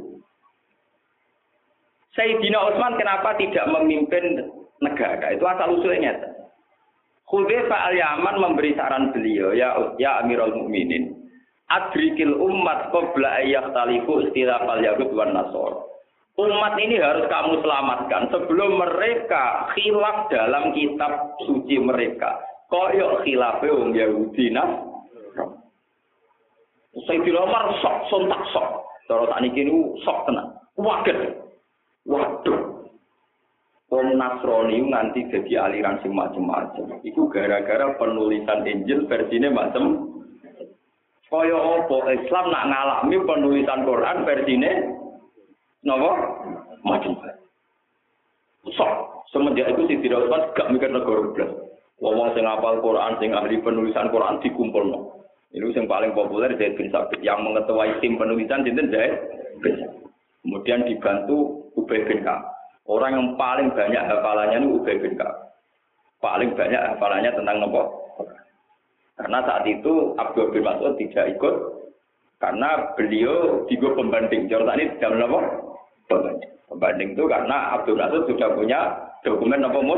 Sayyidina Utsman kenapa tidak memimpin negara? Itu asal usulnya. Hudzaifah Al-Yaman memberi saran beliau, ya ya Amirul Mukminin. Adrikil umat qabla ayyakhtalifu istilafal yahud wan nasara. Umat ini harus kamu selamatkan sebelum mereka khilaf dalam kitab suci mereka. Koyok khilafe wong Yahudi Nasrani. Sayyidina Umar sok sontak sok. Cara sakniki niku sok tenan. Waget. Waduh. Wong Nasrani nganti jadi aliran sing macam-macam. Iku gara-gara penulisan Injil versine macam kaya apa Islam nak ngalami penulisan Quran versine napa macam sok semenjak itu si tidak usah gak mikir negara blas wong sing hafal Quran sing ahli penulisan Quran dikumpulno itu yang paling populer Zaid bin Sabit yang mengetuai tim penulisan sinten Zaid bin Sabit kemudian dibantu Ubay bin Ka'ab orang yang paling banyak hafalannya itu Ubay bin Ka'ab paling banyak hafalannya tentang napa. Karena saat itu Abdul bin Mas'ud tidak ikut karena beliau digo pembanding. Jordan ini tidak apa? Pembanding. Pembanding itu karena Abdul Mas'ud sudah punya dokumen apa mus.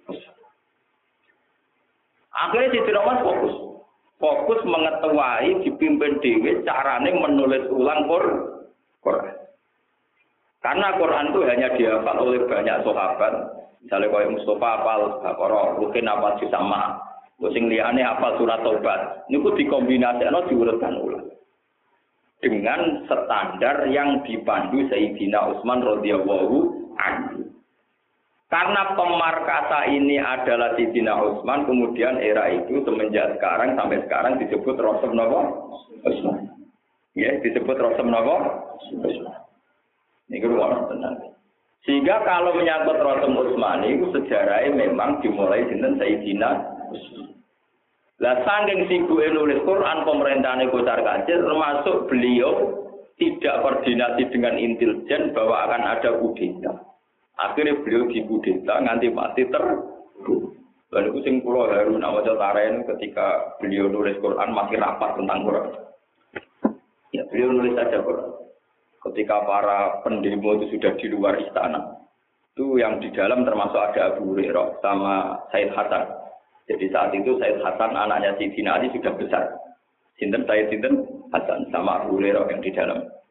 Akhirnya si Umar fokus. Fokus mengetuai dipimpin dewe carane menulis ulang Quran. Karena Quran itu hanya dihafal oleh banyak sahabat. Misalnya kayak Mustafa hafal Baqarah, Rukin hafal Sama. Sing liyane hafal surat Taubat. Niku dikombinasikeun diurutkan ulang. Dengan standar yang dipandu Sayyidina Utsman radhiyallahu anhu. Karena pemarkasa ini adalah Sayyidina Utsman, kemudian era itu semenjak sekarang sampai sekarang disebut Rasul napa? Utsman. Ya, disebut Rasul napa? Utsman. Niku wonten tenan. Sehingga kalau menyangkut Rasul Utsman itu sejarahnya memang dimulai dengan Sayyidina Utsman. Lah saking sibuke nulis Quran pemerintahane kocar kacir termasuk beliau tidak koordinasi dengan intelijen bahwa akan ada kudeta. Akhirnya beliau dikudeta nganti mati terbunuh. Lalu itu sing kula haru nak waca taren ketika beliau nulis Quran masih rapat tentang Quran. Ya beliau nulis saja Quran. Ketika para pendemo itu sudah di luar istana. Itu yang di dalam termasuk ada Abu Hurairah sama Said Hasan. Jadi saat itu Said Hasan anaknya Sayyidina Ali sudah besar. Sinten Said Sinten Hasan sama Abu Hurairah yang di dalam.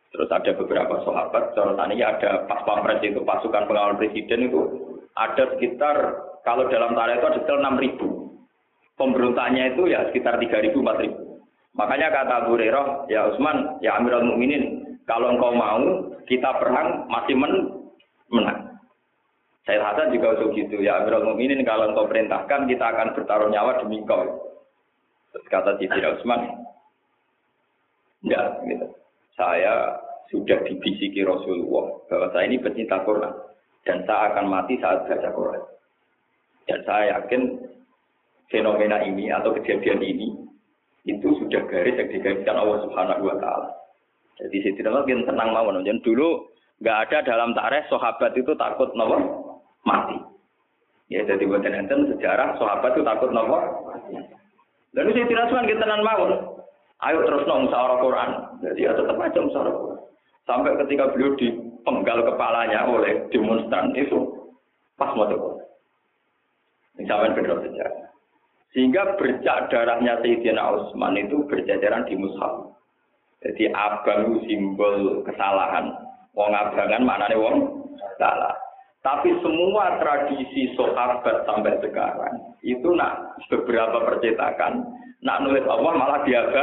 Terus ada beberapa sahabat, contohnya ada pas pampres itu pasukan pengawal presiden itu ada sekitar kalau dalam tarikh itu ada sekitar enam ribu. Pemberontaknya itu ya sekitar tiga ribu empat ribu. Makanya kata Abu Hurairah, ya Utsman, ya Amirul Mukminin, kalau engkau mau kita perang masih men menang. Saya Hasan juga usul gitu, ya Amirul Mukminin, kalau engkau perintahkan kita akan bertaruh nyawa demi kau. Terus kata Sayyidina Utsman, enggak, gitu. Saya sudah dibisiki Rasulullah bahwa saya ini pecinta Quran dan saya akan mati saat baca Quran. Dan saya yakin fenomena ini atau kejadian ini itu sudah garis yang digariskan Allah Subhanahu wa taala. Jadi Sayyidina Utsman tenang mawon. Dan dulu enggak ada dalam tarikh sahabat itu takut napa mati. Ya jadi buatan enten sejarah sahabat itu takut napa. Lalu Sayyidina Utsman kita tenang mawon. Ayo terus nong musyawarah Quran. Jadi ya tetap aja musyawarah Quran. Sampai ketika beliau dipenggal kepalanya oleh demonstran itu pas mau Quran. Ini sampai benar sejarah. Sehingga bercak darahnya Sayyidina Utsman itu berjajaran di mushaf. Jadi abang itu simbol kesalahan. Wong abangan maknanya wong salah. Tapi semua tradisi sahabat sampai sekarang itu nak beberapa percetakan nak nulis Allah malah diaga.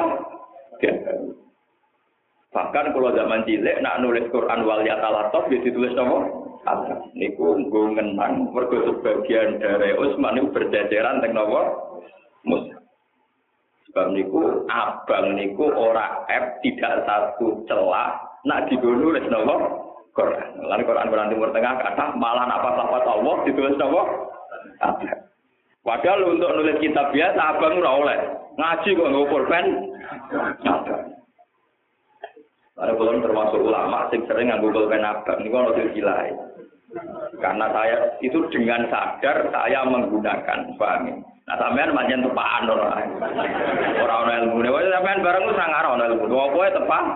Bahkan kalau zaman cilik nak nulis Quran wal yatalataf ya ditulis apa? Allah. Niku nggo ngenang mergo sebagian dari Utsman itu berjajaran teng napa? Musa. Sebab niku abang niku ora F tidak satu celah nak digo nulis napa? Quran. Lan Quran-Quran Timur Tengah kata malah apa-apa Allah ditulis napa? Allah. Padahal untuk nulis kitab biasa abang ora oleh. Ngaji kok nggo pulpen. Ada belum termasuk ulama sing sering nganggo pulpen abang niku ono silsilah. Karena saya itu dengan sadar saya menggunakan, paham. Nah sampean pancen tepaan ora. Ora ono ilmune. Wis sampean bareng wis ngarah ono ilmu. Apa tepak?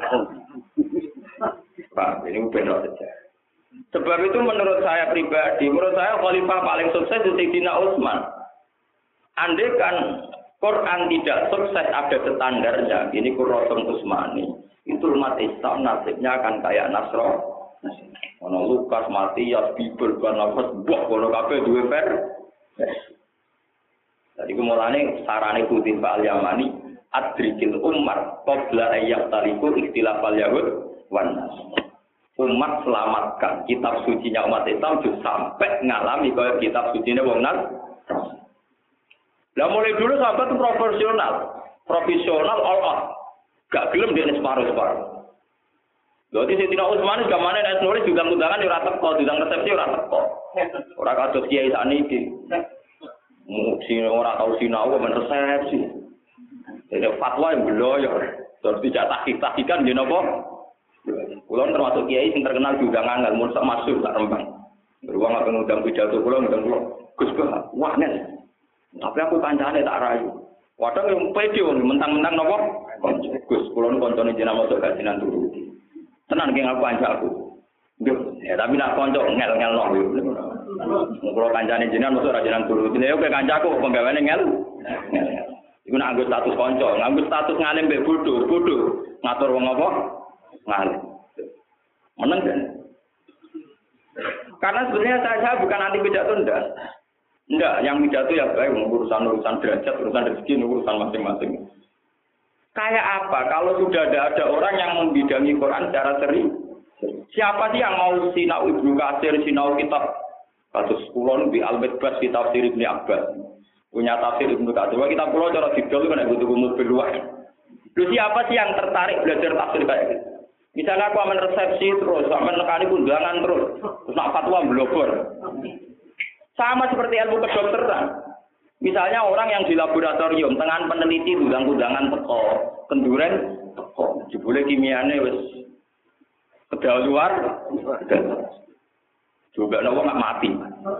Pak, ini benar saja. Sebab itu menurut saya pribadi, menurut saya khalifah paling sukses itu Sayyidina Utsman. Andai kan Quran tidak sukses ada standarnya, ini Qur'an Utsmani. Itu umat Islam nasibnya akan kayak Nasro. Ono Lukas, Matius, Bible, Barnabas, buah kono kabeh duwe ver. Jadi kumulane sarane Kutib Al-Yamani adrikil ummah qabla ayyaqtaliku ikhtilaf al-yahud wan nas. Umat selamatkan kitab sucinya umat Islam juga sampai ngalami kaya kitab sucinya wong nas. Lah mulai dulu sahabat itu profesional, profesional all out. Gak gelem dene separuh-separuh. Jadi Sayyidina Utsman gamane nek nulis juga undangan ora teko, diundang resepsi ora teko. Ora kados kiai sakniki. Mungkin ora tau sinau men resepsi. Jadi fatwa yang beloyo. Terus tidak tahqiq-tahqiqan nggih napa? Kulon termasuk kiai sing terkenal juga nganggal mun sak masuk sak rembang. Beruang apa ngundang pidato kula ngundang kula. Gus Bah, wah nen. Tapi aku kancane tak rayu. Wadang yang pede mentang-mentang napa? Gus, kula nu kancane jenengan masuk kajian turu. Tenan ki ngaku kancaku. Nggih, ya tapi nak kanca ngel-ngelno yo. Kula kancane jenengan masuk kajian turu. Dene yo ke kancaku penggaweane ngel. Iku nak nggo status kanca, nganggo status ngalim mbek bodho, bodho. Ngatur wong apa? Ngalim. Meneng kan? Karena sebenarnya saya, saya bukan anti pidato enggak. Enggak, yang pidato ya baik urusan-urusan derajat, urusan rezeki, urusan masing-masing. Kayak apa kalau sudah ada ada orang yang membidangi Quran secara serius? Siapa sih yang mau sinau Ibnu Katsir, sinau kitab kados kula di Al-Midbas kitab tafsir Ibnu Abbas. Punya tafsir Ibnu Katsir. Kitab kula cara didol kan butuh mobil luas. Lu siapa sih yang tertarik belajar tafsir kayak gitu? Misalnya aku aman resepsi terus, aman nekani undangan terus, terus nak fatwa blogor. Sama seperti ilmu kedokteran. Misalnya orang yang di laboratorium, tengah peneliti undang-undangan teko, kenduren teko, jebule kimiane wis kedaluar, juga nopo nggak mati.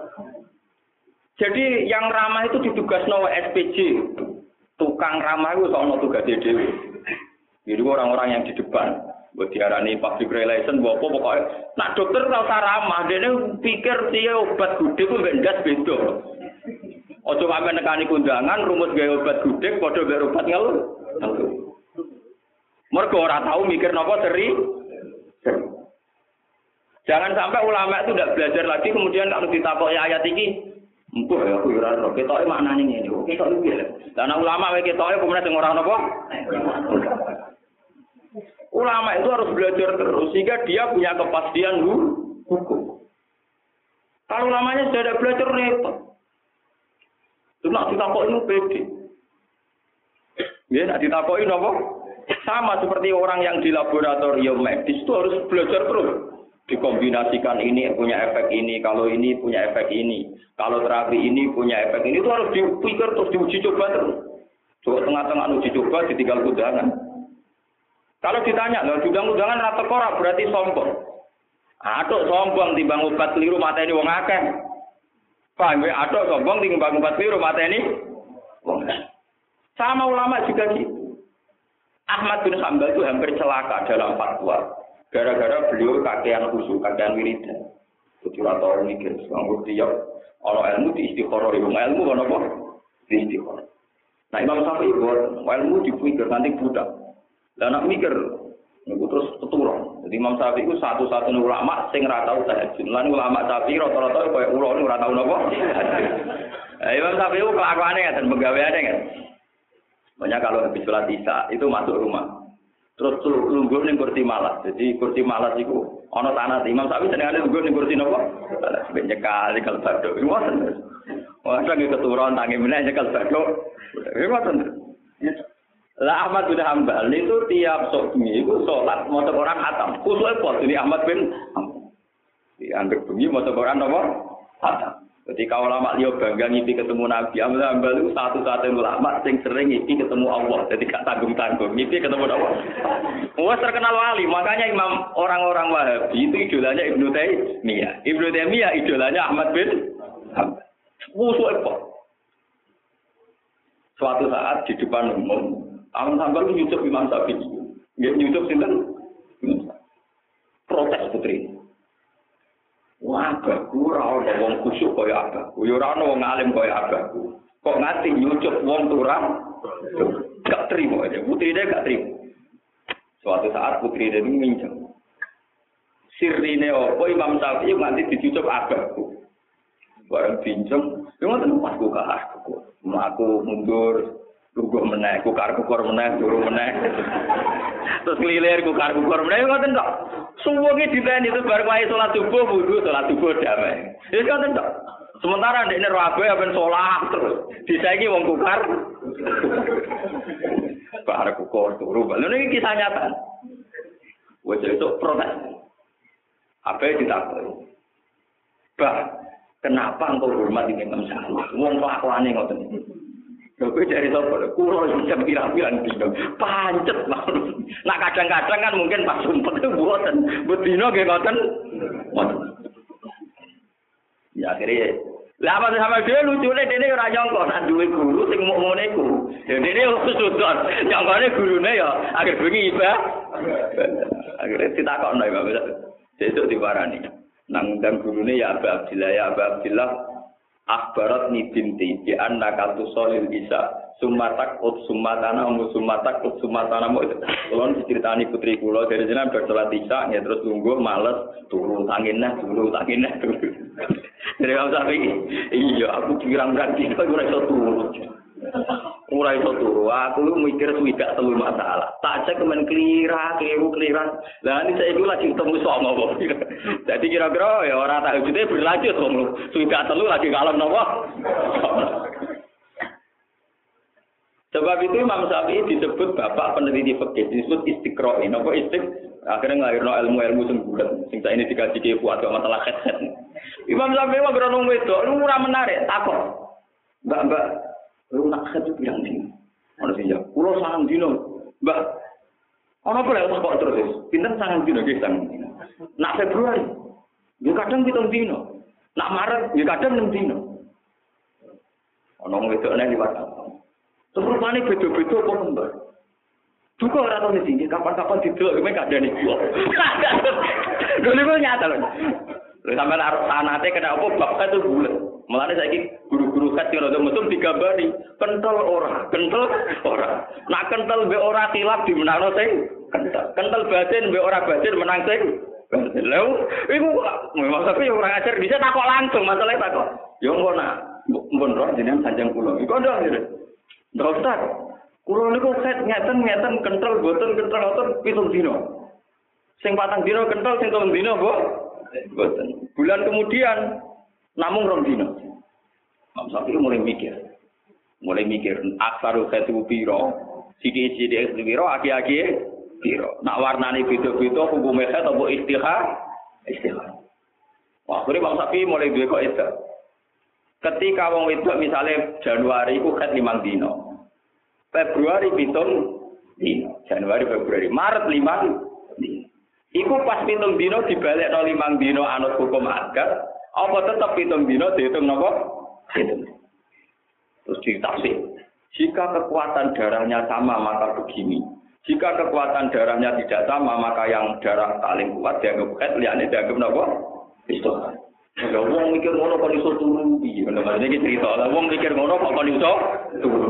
Jadi yang ramah itu ditugasno S P J, tukang ramah itu soal tugas dhewe. Jadi orang-orang yang di depan. Buat diarani public relation, buat apa pokoknya. Nah dokter ora usah ramah, dia pikir dia obat gudeg itu bendas beda. Ojo sampe nekani kundangan, rumus gaya obat gudeg, padha gaya obat ngelu. Mergo ora tahu mikir napa seri. Jangan sampai ulama itu tidak belajar lagi kemudian kalau ditakoki ayat ini, empuh ya aku ora ora ketoke maknane ngene. Ketok iki lho. Lah ulama wae ketoke kemudian sing ora napa? Ulama itu harus belajar terus sehingga dia punya kepastian hukum. Kalau ulamanya sudah ada belajar repot. Cuma ditakoki pede. Ya, nak ditakoki napa? Sama seperti orang yang di laboratorium medis itu harus belajar terus. Dikombinasikan ini punya efek ini, kalau ini punya efek ini, kalau terapi ini punya efek ini, itu harus dipikir terus diuji coba terus. Coba tengah-tengah uji coba ditinggal undangan. Kalau ditanya, loh diundang undangan rata korak berarti sombong. Aduh sombong timbang obat keliru mateni wong akeh. Paham ya? Aduh sombong timbang obat keliru mateni wong akeh. Sama ulama juga gitu. Ahmad bin Hanbal itu hampir celaka dalam fatwa. Gara-gara beliau kakean khusyuk, kakean wiridan. Jadi rata mikir, nganggur tiap orang ilmu di istikharah, ilmu ilmu kan apa? Di istikharah. Nah Imam Syafi'i buat ilmu dipikir nanti budak. Dan nak mikir, itu terus keturun. Jadi Imam Syafi'i itu satu-satunya ulama sing ora tau tahajud. Lan ulama Syafi'i rata-rata koyo ulo niku ora tau napa? Nah, Imam Syafi'i itu kelakuane ngaten, penggaweane kan. Banyak kalau habis sholat Isya itu masuk rumah. Terus lungguh ning kursi malas. Jadi kursi malas iku ana tanah Imam Syafi'i senengane lungguh ning kursi napa? Ben nyekal kalau badhe. Ngoten. Wah, lagi keturun tangi meneh nyekal badhe. Ngoten. Lah Ahmad bin Hanbal itu tiap sok bengi iku salat maca Quran khatam. Kusuke pol jadi Ahmad bin Hanbal. Dianggap bengi maca Quran napa? Khatam. Jadi kalau ulama liya bangga ngipi ketemu Nabi, Ahmad bin Hanbal itu satu-satunya ulama sing sering ngipi ketemu Allah. Jadi gak tanggung-tanggung ngipi ketemu Allah. Wah terkenal wali, makanya imam orang-orang Wahabi itu idolanya Ibnu Taimiyah. Ibnu Taimiyah idolanya Ahmad bin Hanbal. Kusuke pol. Suatu saat di depan umum Ahmad Hanbal nyucup Imam Syafi'i. Nggih nyucup sinten? Protes putri. Wah, aku ora ana wong khusyuk kaya abahku. Ya ora ana wong alim kaya abahku. Kok ngati nyucup wong turang? Gak terima aja. Putrine gak terima. Suatu saat putrine ini minjem. Sirine apa Imam Syafi'i nganti dicucup abahku. Bareng pinjem, yo ngoten pas ku kahku. Aku mundur Lugu meneh, kukar-kukur meneh, turu meneh. Terus ngelilir kukar-kukur meneh, ngoten tok. Suwunge diteni itu bar wae salat subuh wudu, salat subuh damai. Wis ngoten tok. Sementara ndekne rabe apen salat terus. Disaiki wong kukar. Bar kukur turu. Lha niki kisah nyata. Wes itu protes. Apa ditakoki? Bah, kenapa engkau hormat Imam Syafi'i? Wong kelakuane ngoten iki. Lho kowe dari sapa? Kulo jam pirang-pirang dino. Pancet mawon. Nah kadang-kadang kan mungkin pas sumpet itu mboten. Bedino nggih ngoten. Ya akhirnya lah apa sama dia lucune dene ora nyangka nek duwe guru sing mok ngene iku. Ya dene sudon. Nyangkane gurune ya akhir bengi iba. Akhirnya ditakokno ya Bapak. Sesuk diwarani. Nang ndang gurune ya Abah Abdillah ya Abah Abdillah. Akhbarat ni binti di annaka tusolil isa sumatak ut sumatana mu sumatak ut sumatana mu itu kalau diceritani putri kula dari jenengan bersolat isya ya terus lungguh males turu tanginnya turu tanginnya turu dari Imam Syafi'i iya aku pirang-pirang dino ora iso turu ora iso turu aku mikir swidak telu masalah tak cek men klira kleru kliran lah ini saya lagi ketemu songo kok jadi kira-kira ya ora tak ujute berlanjut wong swidak telu lagi kalem napa sebab itu Imam Syafi'i disebut bapak peneliti fikih disebut istiqra ini apa istik akhirnya ngelahirno ilmu-ilmu sing bulet sing saiki dikaji ke kuat masalah headset Imam Syafi'i wae grono wedok lu ora menarik takon mbak-mbak lu nak satu bilang ni, mana sih ya? Pulau sangat dino, mbak. Orang boleh tak kok terus? Pinter sangat dino, guys sangat dino. Nak Februari, dia kadang pitung dino. Nak Maret, dia kadang enam dino. Orang itu aneh di mana? Terus mana betul-betul kok mbak? Juga orang tahu di sini, kapan-kapan tidur, mereka ada nih gua. Dulu itu nyata loh. Sampai arep sanate kena apa bapak itu bulat. Mulane saiki guru-guru kat yo rada mesum digambari kental ora, kental ora. Nak kental mbek ora tilap dimenangno sing kental. Kental batin mbek ora batin menang sing Lha iku memang tapi ora ajar bisa takok langsung masalahnya takok. Yo engko nak mbon roh jenengan sanjang kula. Iku ndak ngene. Dokter, kula niku set ngeten ngeten kental boten kental ngoten pitung dina. Sing patang dina kental sing telung dina, Bu. Boten. Bulan kemudian namung rong dina. Mam Sapi mulai mikir. Mulai mikir aksaru khatu piro, sithik-sithik piro, aki-aki piro. Nak warnane beda-beda hukume khat apa istihar? Istihar. Wah, akhire Mam Sapi mulai duwe kok itu. Ketika wong wedok misalnya Januari iku khat limang dina. Februari pitung dina. Januari, Februari, Maret limang dina. Iku pas pitung dina dibalekno limang dina anut hukum adat, apa tetep pitung dina dihitung napa? Hitung. Terus ditafsir. Jika kekuatan darahnya sama maka begini. Jika kekuatan darahnya tidak sama maka yang darah paling kuat dianggap khat, liyane dianggap napa? Istihar. Ya wong mikir ngono kok iso turu piye? Ngono iki cerita. Lah wong mikir ngono kok kon iso turu.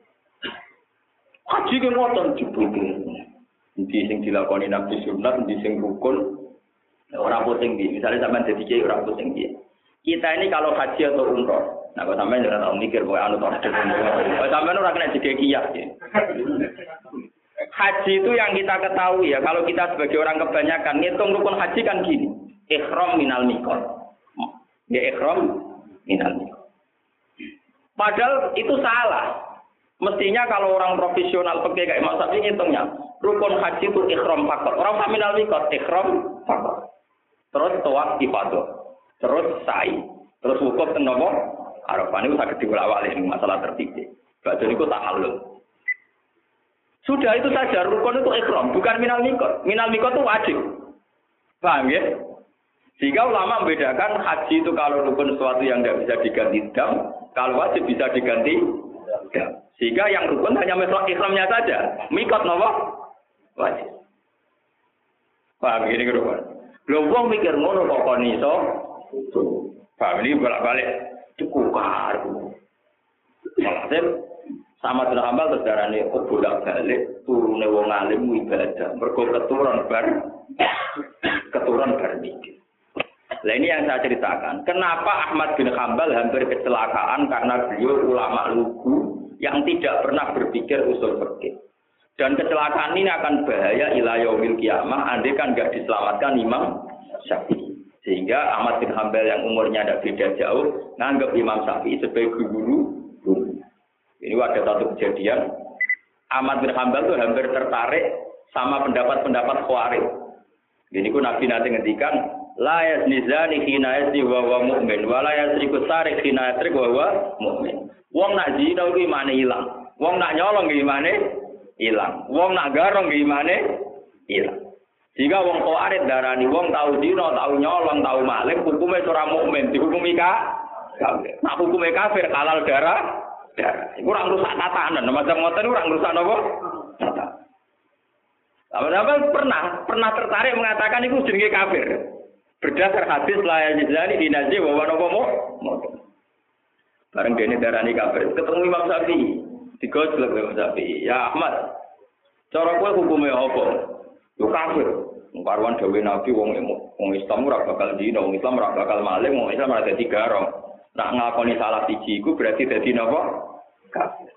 Haji ke ngoten dibuke. Ndi sing dilakoni nabi sunat, ndi sing rukun. Ora pusing iki. Misale sampean dadi kiai ora pusing iki. Kita ini kalau haji atau umroh, nah kalau sampean ora tau mikir kowe anu to. Kalau sampean ora kena jadi kiai. Haji itu yang kita ketahui ya, kalau kita sebagai orang kebanyakan ngitung rukun haji kan gini. Ihram minal miqat. Ya ihram minal miqat. Padahal itu salah. Mestinya kalau orang profesional pakai kayak Mas Sapi ngitungnya, rukun haji itu ihram fakor. Orang minal miqat ihram fakor. Terus tawaf ifadah. Terus sa'i. Terus wukuf teng napa? Arafah niku saged diwala-wali masalah tertib. Badhe niku tahallul. Sudah itu saja rukun itu ihram, bukan minal miqat. Minal miqat itu wajib. Paham ya? Sehingga ulama membedakan haji itu kalau rukun sesuatu yang tidak bisa diganti dam, kalau wajib bisa diganti dam. Sehingga yang rukun hanya masalah ihramnya saja. Miqat napa? Wajib. Paham ini rukun. Lho wong mikir ngono kok kon iso. Paham ini bolak-balik cukar. Maksudnya sama dengan hambal terus darane kok bolak-balik turune wong alim ibadah. Mergo keturun bar keturun bar mikir. Nah ini yang saya ceritakan. Kenapa Ahmad bin Hanbal hampir kecelakaan karena beliau ulama lugu yang tidak pernah berpikir usul fikih. Dan kecelakaan ini akan bahaya ila yaumil kiamah andai kan enggak diselamatkan Imam Syafi'i. Sehingga Ahmad bin Hanbal yang umurnya tidak beda jauh nganggap Imam Syafi'i sebagai guru guru. Ini ada satu kejadian. Ahmad bin Hanbal itu hampir tertarik sama pendapat-pendapat Khawarij. Ini ku Nabi nanti ngendikan la yazni zani hina yazni wa huwa mu'min wa la yasriku sarik hina yasrik wa huwa mu'min. Wong nak zina iki imane ilang. Wong nak nyolong iki imane ilang. Wong nak garong iki imane ilang. Jika wong Khawarij darani wong tau zina, tau nyolong, tau maling, hukume ora mukmin, dihukumi kafir. Nak hukume kafir halal darah, darah. Iku ora ngrusak tatanan, macam ngoten ora ngrusak napa? Tatanan. Apa pernah pernah tertarik mengatakan itu jenenge kafir. Berdasar hadis la yajzani dinaji wa wa napa mo. Bareng dene darani kafir. Ketemu Imam Syafi'i. Digojlok Imam Syafi'i. Ya Ahmad. Cara kowe hukume apa? Yo kafir. Parwan dawuh Nabi wong wong Islam ora bakal dina, wong Islam ora bakal maling, wong Islam ora dadi garong. Nak nglakoni salah siji iku berarti dadi napa? Kafir.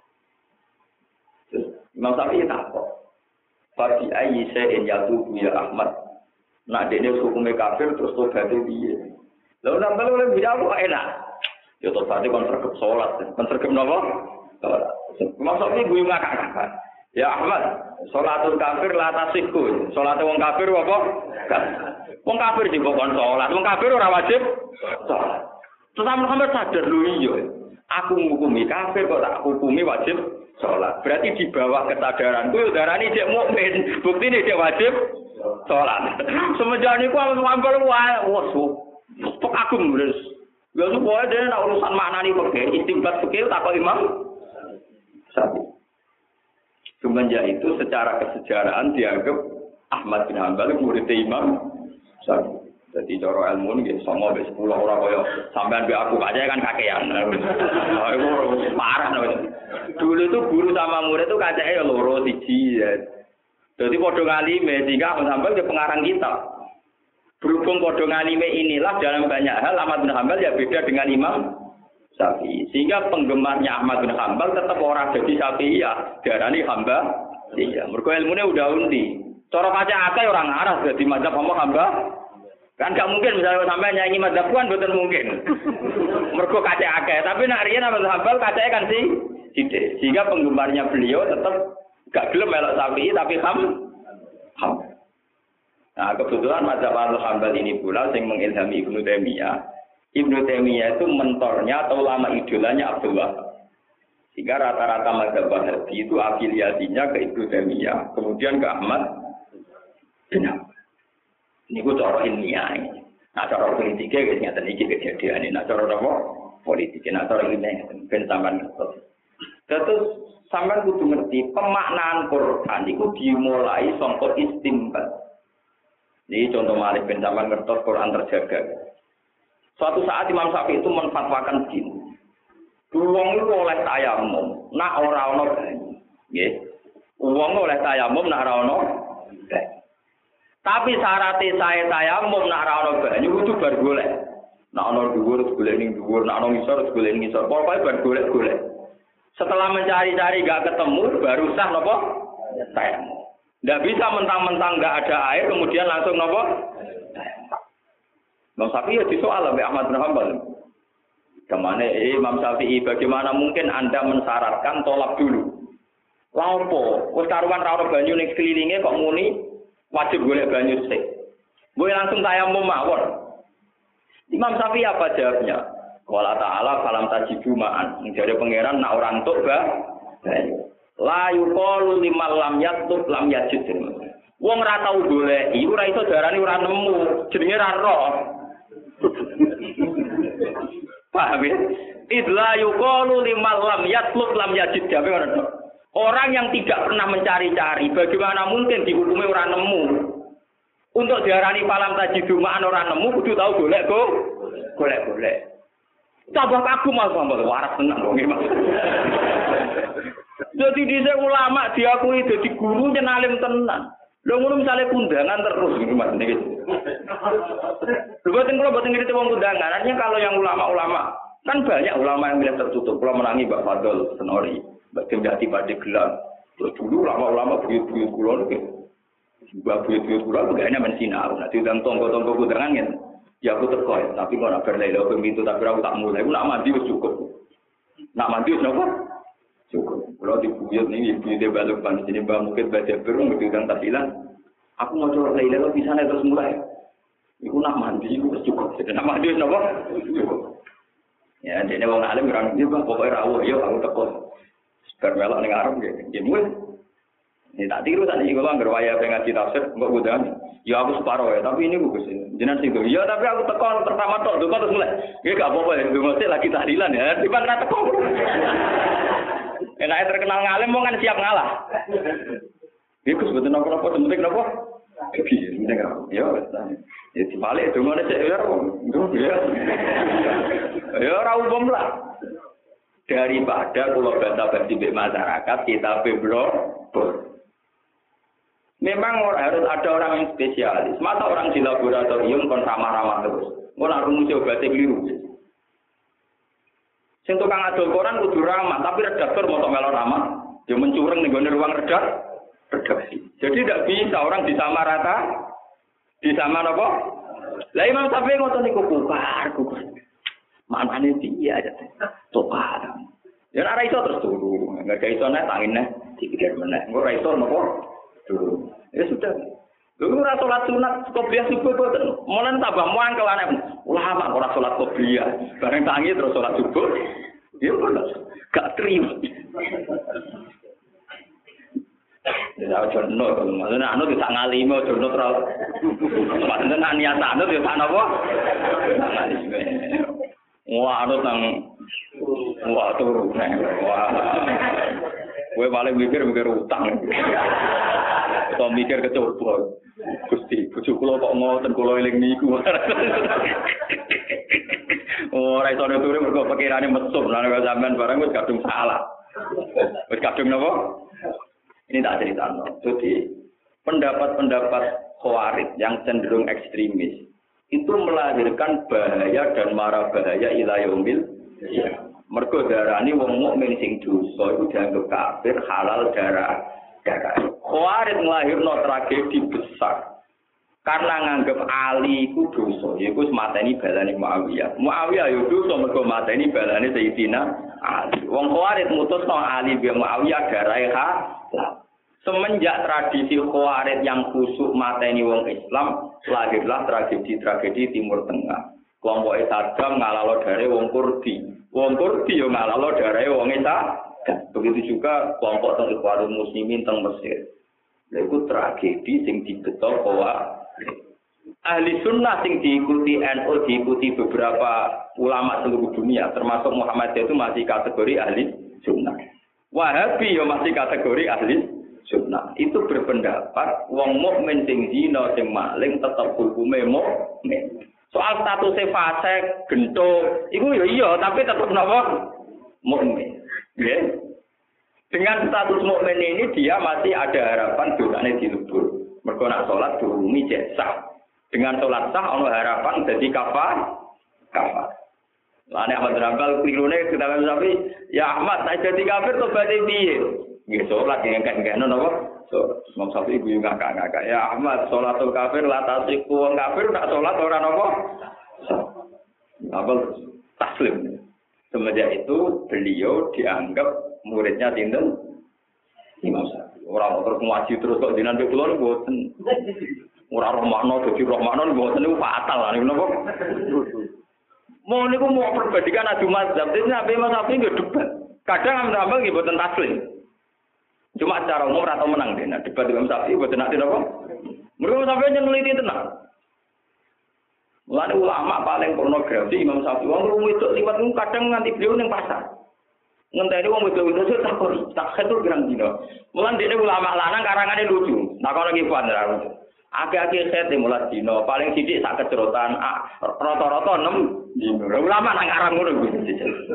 Imam Syafi'i takok. Fati ayyi shay'in yatubu ya Ahmad. Nak dene hukume kafir terus tobat piye? Lha nambah oleh bidawo enak. Ya tobat kon sregep salat, kon sregep napa? Salat. Maksudnya gue ngakak-ngakak. Ya Ahmad, salatul kafir la tasihku. Salat wong kafir apa? Wong kafir juga kon salat. Wong kafir ora wajib salat. Terus Muhammad sadar lho iya. Aku ngukumi kafir kok tak hukumi wajib salat. Berarti di bawah kesadaranku darani cek mukmin. Buktine cek wajib salat. Semenjak niku aku ngambal wae wes. Pok aku wis. Ya supaya dene nek urusan maknani fikih, istimbat fikih takok Imam Syafi'i. Semenjak itu secara kesejarahan dianggap Ahmad bin Hanbal murid Imam Syafi'i. Jadi cara ilmu ini sama sampai sepuluh orang kaya sampean be aku aja kan kakean. Oh, itu parah no. Dulu itu guru sama murid itu kacake ya loro siji ya. Jadi padha ngalime sehingga sampai ke pengarang kitab. Berhubung padha ngalime inilah dalam banyak hal Ahmad bin Hambal ya beda dengan Imam Syafi'i. Sehingga penggemarnya Ahmad bin Hambal tetap orang jadi Syafi'iyah, darani hamba. Iya, mergo ilmune udah undi. Cara kaca akeh orang arah dadi mazhab apa hamba. Kan gak mungkin misalnya sampai nyanyi mazhab kan betul mungkin. Mergo kaca akeh, tapi nek riyen Ahmad bin Hambal kacake kan sih sithik. Sehingga penggemarnya beliau tetap gak gelem melok Syafi'i tapi ham ham. Nah, kebetulan mazhab Al-Hambal ini pula yang mengilhami Ibnu Taimiyah. Ibnu Taimiyah itu mentornya atau ulama idolanya Abdul Wahab. Sehingga rata-rata mazhab Wahabi itu afiliasinya ke Ibnu Taimiyah, kemudian ke Ahmad bin Hanbal. Ini ku cara ilmiah. Nah, cara politiknya guys ngeten iki kejadian ini. Nah, cara apa? Politiknya, nah cara ilmiah ben sampean ngerti. Terus sampean kudu ngerti pemaknaan Quran itu dimulai saka istinbat. Jadi contoh Malik bin Zaman ngertos Quran terjaga. Suatu saat Imam Syafi'i itu menfatwakan begini. Uang itu oleh tayamum, nak ora ono banyu. Nggih. Uang oleh tayamum nak ora ono banyu. Tapi syaratnya saya tayamum nak ora ono banyu kudu bar golek. Nak ono dhuwur golek ning dhuwur, nak ono ngisor golek ning ngisor. Pokoke bar golek-golek. Setelah mencari-cari gak ketemu baru sah napa? Tayamum. Tidak bisa mentang-mentang nggak ada air kemudian langsung nopo. Imam Syafi'i ya disoal oleh Ahmad bin Hanbal. Kemana eh, Imam Syafi'i bagaimana mungkin Anda mensyaratkan tolak dulu? Lampo, wis karuan ra ono banyu ning sekelilinge kok muni wajib golek banyu sik. Gue langsung tayamum mawon. Imam Syafi'i apa jawabnya? Qala ta'ala falam tajidu ma'an. Jare pangeran nak ora entuk ba banyu. La yuqalu limal lam yatub lam yajid. Wong ora tau goleki, ora iso darani ora nemu, jenenge ra roh. Paham ya? Idla yuqalu limal lam yatub lam yajid. Orang yang tidak pernah mencari-cari, bagaimana mungkin dihukumi ora nemu? Untuk diarani falam tajidu ma'an ora nemu, kudu tau golek go. Golek-golek. Tambah kagum Mas Bambal, waras tenan wong iki Mas. Jadi dhisik ulama diakui dadi guru nyenalim tenan. Lho ngono misale kundangan terus iki Mas niki. Lho boten kula boten ngerti wong kundangan. Artinya kalau yang ulama-ulama kan banyak ulama yang bilang tertutup. Kula menangi Mbak Fadol Senori, Mbak Demjati Pade Gelang. Terus dulu ulama-ulama buyut-buyut kula niki. Mbak buyut-buyut kula begane men sinau. Nah diundang tonggo-tonggo kundangan kan. Ya aku teko ya, tapi kok ora berlelo pintu tapi aku tak mulai. Aku nak mandi wis cukup. Nak mandi wis napa? Cukup. Kalau dibuyut nih, ibu dia balik panas ini bah mungkin baca berung berbilang tahlilan. Aku mau coba tahlilan di sana terus mulai. Iku nak mandi, iku cukup. Jadi nak mandi napa? Cukup. Ya, jadi orang alim orang dia bah pokoknya rawuh, yo aku teko. Bermelok ning arep nggih. Nggih mulai. Ini tak tiru tadi kalau anggar waya pengen ngaji tafsir, enggak udah. Ya aku separuh ya, tapi ini bagus ini. Jenengan sing ya tapi aku teko pertama tok, teko terus mulai. Nggih gak apa-apa ya, mesti lagi tahlilan ya. Tiba ra teko. Enake terkenal ngalim wong kan siap ngalah. Iku sebetulnya apa-apa penting napa? Iki penting kan. Ya wis. Ya dibalik dongane sik ya. Ya. Ya ora umum lah. Daripada kula basa-basi mbek masyarakat kita beblok. Memang harus ada orang yang spesialis. Masa orang di laboratorium kon ramah-ramah terus. Ora rumus obatnya keliru. Sing tukang adol koran kudu ramah, tapi redaktor moto melo ramah, dia mencureng ning gone ruang redak redaksi. Jadi tidak bisa orang disamarata, disama napa? Lah Imam Syafi'i ngoten niku kukar, kukar. Manane dia aja. Topar. Ya ora iso terus turu. Enggak iso nek tangine dipikir meneh. Engko ora iso napa? Turu. Ya sudah. Lha ora salat sunat qobliyah subuh boten. Molen tambah mangkel aneh. Ulama ora salat qobliyah. Bareng tangi terus salat subuh. Ya ora. Gak terima. Ya ojo no kalau maksudnya anu bisa ngalime ojo no terus. Maksudnya niat anu ya sak napa? Ngalime. Wah anu tang wah turu. Wah. Kowe paling mikir mikir utang. Atau mikir kecoba. Gusti, bojo kula kok ngoten kula eling niku. Ora iso turu mergo pikirane mesum lan sampean barang wis kadung salah. Wis kadung napa? Ini tak cerita. Jadi pendapat-pendapat khawarij yang cenderung ekstremis itu melahirkan bahaya dan mara bahaya ila yaumil ya. Mergo darani wong mukmin sing dosa iku dianggap kafir halal darah darah. Khawarij nglahirno tragedi besar. Karena nganggep Ali iku dosa, iku mateni balane Muawiyah. Muawiyah yo dosa mergo mateni balane Sayyidina Ali. Wong Khawarij mutusno Ali bin Muawiyah darahe halal. Semenjak tradisi Khawarij yang kusuk mateni wong Islam, lahirlah tragedi-tragedi Timur Tengah. Kelompok Saddam ngalalo dare wong Kurdi. Wong Kurdi yo ngalalo dare wong Islam. Begitu juga kelompok teng Ikhwanul Muslimin teng Mesir. Lha iku tragedi sing dibeto bahwa ahli sunnah sing diikuti N U, diikuti beberapa ulama seluruh dunia, termasuk Muhammadiyah itu masih kategori ahli sunnah. Wahabi yo masih kategori ahli sunnah. Itu berpendapat wong mukmin sing zina sing maling tetep hukume mukmin. Soal statusnya fasik, gento, itu ya iya, tapi tetap napa? Mukmin. Ya. Dengan status mukmin ini dia masih ada harapan dosanya dilebur. Mergo nak salat durungi cek sah. Dengan salat sah ana harapan dadi kafar. Kafar. Lane Ahmad Rambal klirune kedawan sapi, ya Ahmad nek dadi kafir tobaté piye? Nggih salat yang kan-kan napa? So, Imam Syafi'i guyu ngakak-ngakak. Ya Ahmad, sholatul kafir latasiku wong kafir nak sholat ora napa? Apa taslim. Semenjak itu beliau dianggap muridnya sinten? Imam Syafi'i. Ora terus ngaji terus kok dinan kula mboten. Ora roh makna dadi roh makna mboten niku fatal niku napa? Mau niku mau perbandingan adu mazhab. Dene sampe Imam Syafi'i nggih debat. Kadang ambal nggih mboten taslim. Cuma secara umum atau menang deh. Nah, debat Imam Syafi'i buat nak tidak apa? Mereka sampai nyeliti tenang. Mulane ulama paling pornografi Imam Syafi'i. Wong wong itu liwat kadang nganti beliau ning pasar. Ngenteni wong itu itu tak tak ketur gerang dino. Mulane dene ulama lanang karangane lucu. Nah kalau lagi puan ra. Ake-ake set mulai dino paling sithik sak kecerotan rata-rata enam dino. Ulama nang arang ngono kuwi.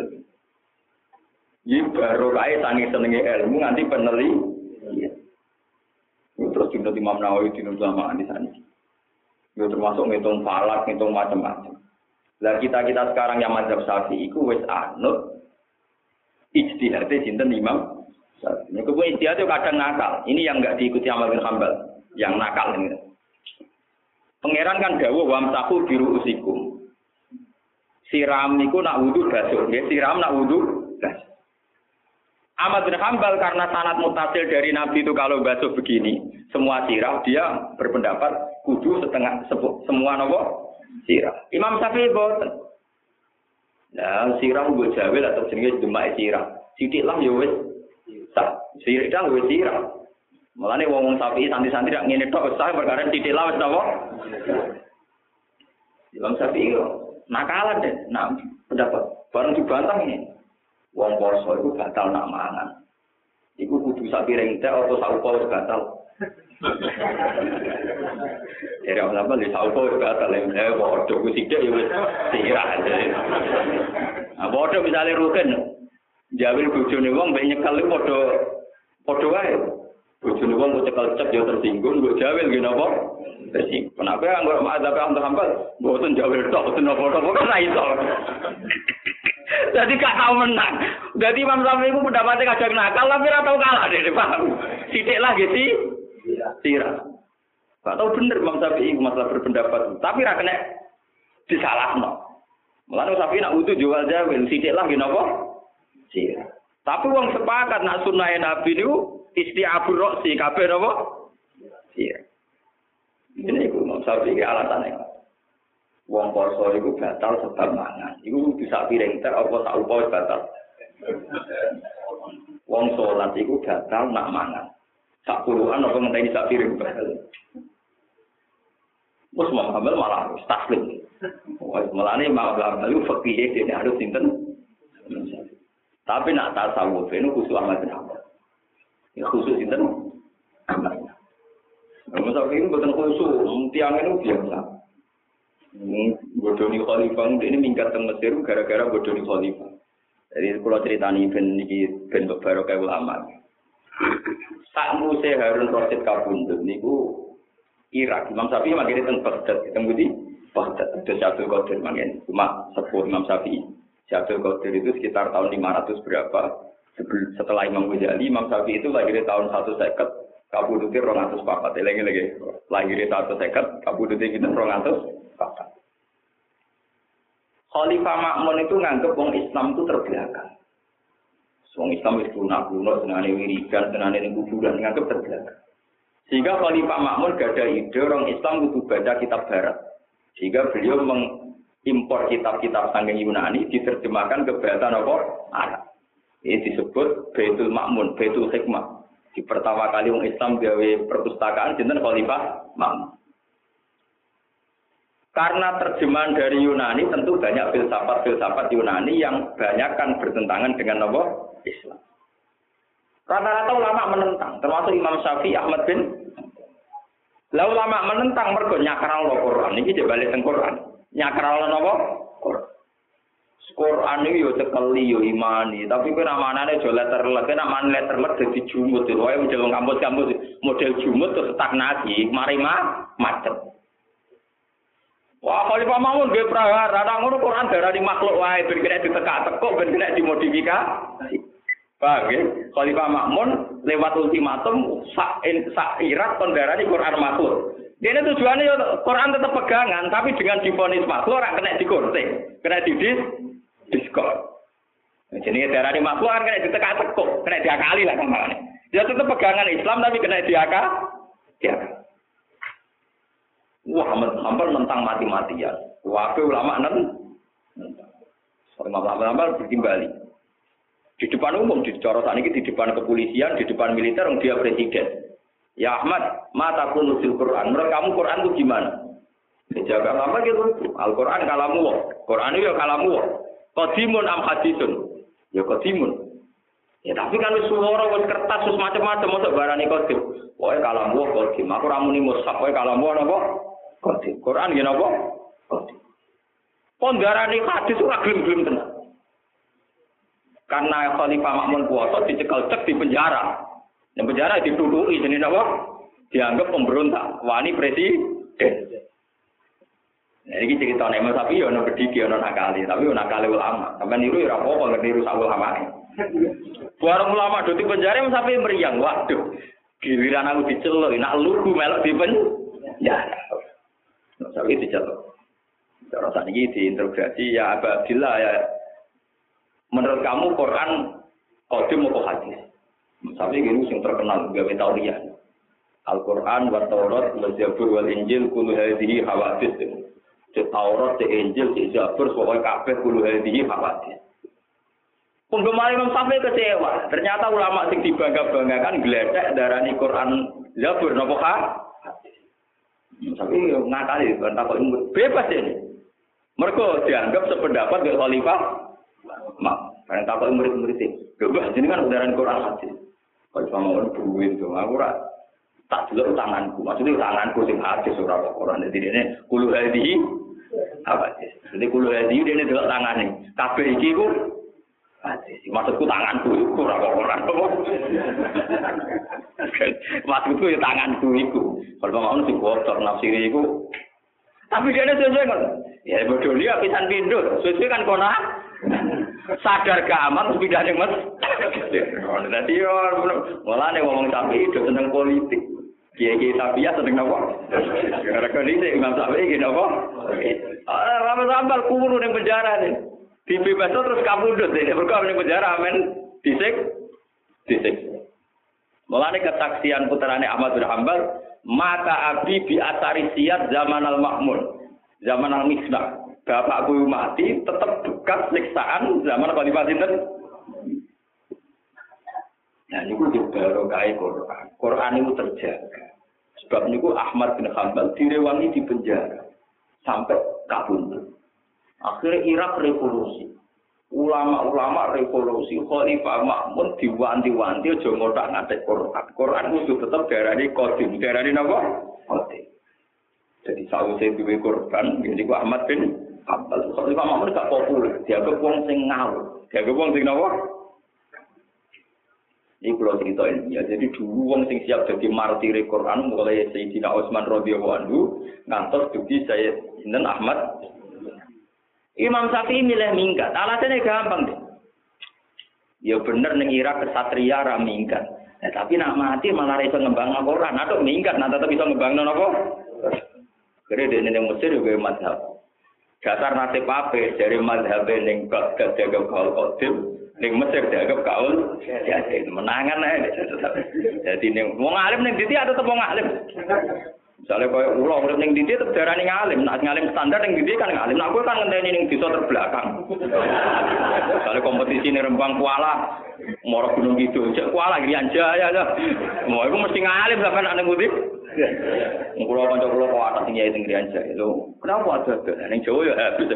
Ini baru kaya sangi senengi ilmu nanti peneli. Iya. Terus juga Imam Nawawi di Nuzlamaan di sana. Itu termasuk ngitung falak, ngitung macam-macam. Lah kita-kita sekarang yang mazhab Syafi'i iku wis anut ijtihadnya sinten Imam Syafi'i. Nek kuwi ijtihad itu kadang nakal. Ini yang enggak diikuti Ahmad bin Hanbal, yang nakal ini. Pangeran kan dawuh wamsahu biru usikum. Siram niku nak wudu basuh, nggih siram nak wudu basuh. Ahmad bin Hanbal karena sanad mutasil dari Nabi itu kalau basuh begini, semua sirah, dia berpendapat kudu setengah sepu, semua nopo sirah. Imam Syafi'i boten. Nah, sirah nggo jawel atau jenenge demak sirah. Sithik lah ya wis sah. Sirah wis sirah. Mulane wong-wong Syafi'i santri-santri rak ngene tok sah perkara sithik lah wis napa. Imam Syafi'i nakalan deh, nah pendapat bareng dibantah ini. Wong poso itu batal nak mangan. Iku kudu sak piring teh atau sak upa wis batal. Jadi apa sampe sak upa wis batal lha padha ku sithik ya wis sirah. Ah padha misale ruken. Jawil bojone wong mbek nyekel iku padha padha wae. Bojone wong kok cekel cek ya tersinggung, mbok jawil nggih napa? Tersinggung. Kenapa anggere mazhab Ahmad mboten jawil tok, mboten napa-napa kan ra iso. Jadi gak tahu menang. Jadi Imam Syafi'i itu pendapatnya kadang nakal, tapi tidak tahu kalah deh, paham? Sidik lah gitu, sirah. Gak tahu bener Imam Syafi'i masalah berpendapat, tapi tidak kena disalah no. Malah Imam Syafi'i nak utuh jual jawil, sidik lah gitu apa? Sirah. Tapi uang sepakat nak sunnah Nabi itu isti'abur roksi, kabeh apa? Sirah. Ini Imam Syafi'i alasannya. Wong poso iku batal sebab mangan. Iku bisa piring ter apa sak upa batal. Wong salat iku batal nak mangan. Sak puluhan apa ngenteni sak piring batal. Wes Muhammad malah taslim. Wes melane malah lalu fakih dene harus sinten. Tapi nak tasawuf itu khusus Ahmad bin Hanbal. Ya khusus sinten? Ahmad. Masa ini bukan khusus, tiang itu biasa. Bodoni khalifah ini minggat ke Mesir gara-gara bodoni khalifah. Jadi kalau ceritani ben iki ben barokah ulama. Sak muse Harun Rasid kabundut niku Irak. Imam Syafi'i makene teng Baghdad, teng Budi Wah, itu Syabdul Qadir mungkin cuma sepuh Imam Syafi'i. Syabdul Qadir itu sekitar tahun lima ratus berapa? Setelah Imam Ghazali, Imam Syafi'i itu lahir tahun seratus seket, kabudute dua ratus empat. Lagi-lagi lahir tahun seratus seket, kabudute kita dua ratus empat. Khalifah Ma'mun itu nganggep wong Islam itu terbelakang. Wong Islam itu lunak-lunak, senane wiridan, senane ning kuburan, nganggep terbelakang. Sehingga Khalifah Ma'mun gak ada ide orang Islam kudu baca kitab barat. Sehingga beliau mengimpor kitab-kitab saking Yunani diterjemahkan ke bahasa apa? Arab. Ini disebut Baitul Ma'mun, Baitul Hikmah. Di pertama kali wong Islam gawe perpustakaan jeneng Khalifah Ma'mun. Karena terjemahan dari Yunani tentu banyak filsafat-filsafat Yunani yang banyak kan bertentangan dengan apa? Islam. Rata-rata ulama menentang, termasuk Imam Syafi'i, Ahmad bin. Lah ulama menentang mergo nyakral Quran iki dibalik teng Quran. Nyakral napa? Quran. Quran iki yo cekeli yo imani, tapi kowe namanane aja letter-letter, namane letter-letter dadi jumut. Wae menjelung kampus-kampus model jumut terus stagnasi, mari mah macet. Wah, Khalifah Ma'mun nggih prahara, ra ngono Quran darani makhluk wae ben kena ditekak-tekuk, ben kena dimodifikasi. Paham nggih? Khalifah Ma'mun lewat ultimatum sak sak irat kon darani Quran makhluk. Dene tujuane yo Quran tetep pegangan, tapi dengan divonis makhluk ora kena digunting, kena didis diskon. Jenenge darani makhluk kan kena ditekak-tekuk, kena diakali lah kamane. Dia tetep pegangan Islam tapi kena diakal. Diakal. Wah, hampir tentang mati-matian. Wafe ulama nan, ulama-ulama bertimbali. Di depan umum, di corotan ini, di depan kepolisian, di depan militer, dia presiden. Ya Ahmad, mata pun nusil Quran. Menurut kamu Quran itu gimana? Dijaga apa gitu? Al-Quran kalamu, Quran itu ya kalamu. Qadimun am hadisun, ya qadimun. Ya tapi kan suara wis kertas wis macam-macam mosok barani qadim. Pokoke kalamu qadim. Aku ra muni mushaf, pokoke kalamu napa? Qadim. Quran nggih napa? Qadim. Pondharane hadis ora gelem-gelem tenan. Karena Khalifah Ma'mun kuwasa dicekel cek di penjara. Yang penjara dituduhi jenenge napa? Dianggap pemberontak, wani presiden. Nah, ini cerita Imam Syafi'i ya ono bediki ono nakali, tapi ono nakali ulama. Sampai niru ya ora apa-apa ngerti niru sak ulama. Bareng ulama do di penjara Imam Syafi'i meriang, waduh. Giliran aku diceluk, nak lugu melok di penjara. Imam Syafi'i diceluk. Cara sakniki diinterogasi ya Abu Abdillah ya. Menurut kamu Quran qadim apa hadis? Imam Syafi'i ini sing terkenal gawe tauriah. Al-Quran wa Taurat wa Zabur wal Injil kullu hadhihi hawadits. Di Taurat, di Injil, di Zabur, pokoknya kabeh kullu hadhihi hawadits. Penggemar Imam Syafi'i kecewa. Ternyata ulama sing dibangga-banggakan gledek darani Quran Zabur napa ha? Tapi ngakali kan takok bebas ini. Mergo dianggap sependapat dengan Khalifah Mak. Karena takok murid-murid iki. Bebas ini kan darani Quran hadis. Khalifah mau duwe itu aku ora tak delok tanganku. Maksudnya tanganku sing hadis ora kok Quran. Jadi dene kullu hadhihi hawadits. Jadi kullu hadhihi dene delok tangane. Kabeh iki ku hadis. Maksudku tanganku iku ora kok Quran. Maksudku ya tanganku iku. Kalau mau sing bocor nafsire iku. Tapi dia sesuai kan. Ya bodoh dia pisan pindho. Sesuai kan kono. Sadar gak aman pindah ning Mas. Dadi yo mulane wong Syafi'i do seneng politik. Kiai-kiai Syafi'i seneng apa? Gara-gara iki Imam Syafi'i iki apa? Ah, Rama Sambal kuwuru ning penjara nih. Dibebasno terus kabudut nek mergo ning penjara amen disik disik. Mulane kesaksian putrane Ahmad bin Hanbal, mata abi bi asari siyat zaman al-Ma'mun. Zaman al-Misbah. Bapakku mati tetap bekas siksaan zaman Khalifah sinten. Nah niku baru kaya Quran. Quran itu terjaga. Sebab niku Ahmad bin Hanbal direwangi di penjara sampai kabundut. Akhirnya Irak revolusi. Ulama-ulama revolusi Khalifah Ma'mun diwanti-wanti aja ngotak-ngatik Quran. Quran kudu tetep darani qadim. Darani napa? Qadim. Jadi sawise duwe korban niku Ahmad bin Hanbal. Khalifah Ma'mun gak populer. Dianggap wong sing ngawur. Dianggap wong sing napa? Ini kalau cerita ini ya. Jadi dulu wong sing siap jadi martir Quran mulai Sayyidina Utsman radhiyallahu anhu ngantos dugi Sayyidina Ahmad. Imam Syafi'i milih minggat. Alasannya gampang deh. Ya bener ning Irak kesatria ra minggat. Nah, tapi nak mati malah iso ngembang Quran. Aduh minggat nah tetep iso ngembang napa? Kere dene ning Mesir juga mazhab. Dasar nasib ape dari mazhab ning Baghdad jaga kaul qadim. Ning Mesir dianggap kaul jadi menangan ae. Jadi ning wong alim ning ndi ada tetep wong alim. Misale koyo kula urip ning ndi tetep darani ngalim, nek ngalim standar ning ndi kan ngalim. Nek kowe kan ngenteni ning desa terbelakang. Misale kompetisi ning Rembang Kuala, Moro Gunung Kidul, cek Kuala Griyan Jaya ya. Mau iku mesti ngalim sampean nek ngendi. Kula kanca kula kok atas tinggi ning Griyan Jaya. Lho, kenapa ada ning Jawa ya habis.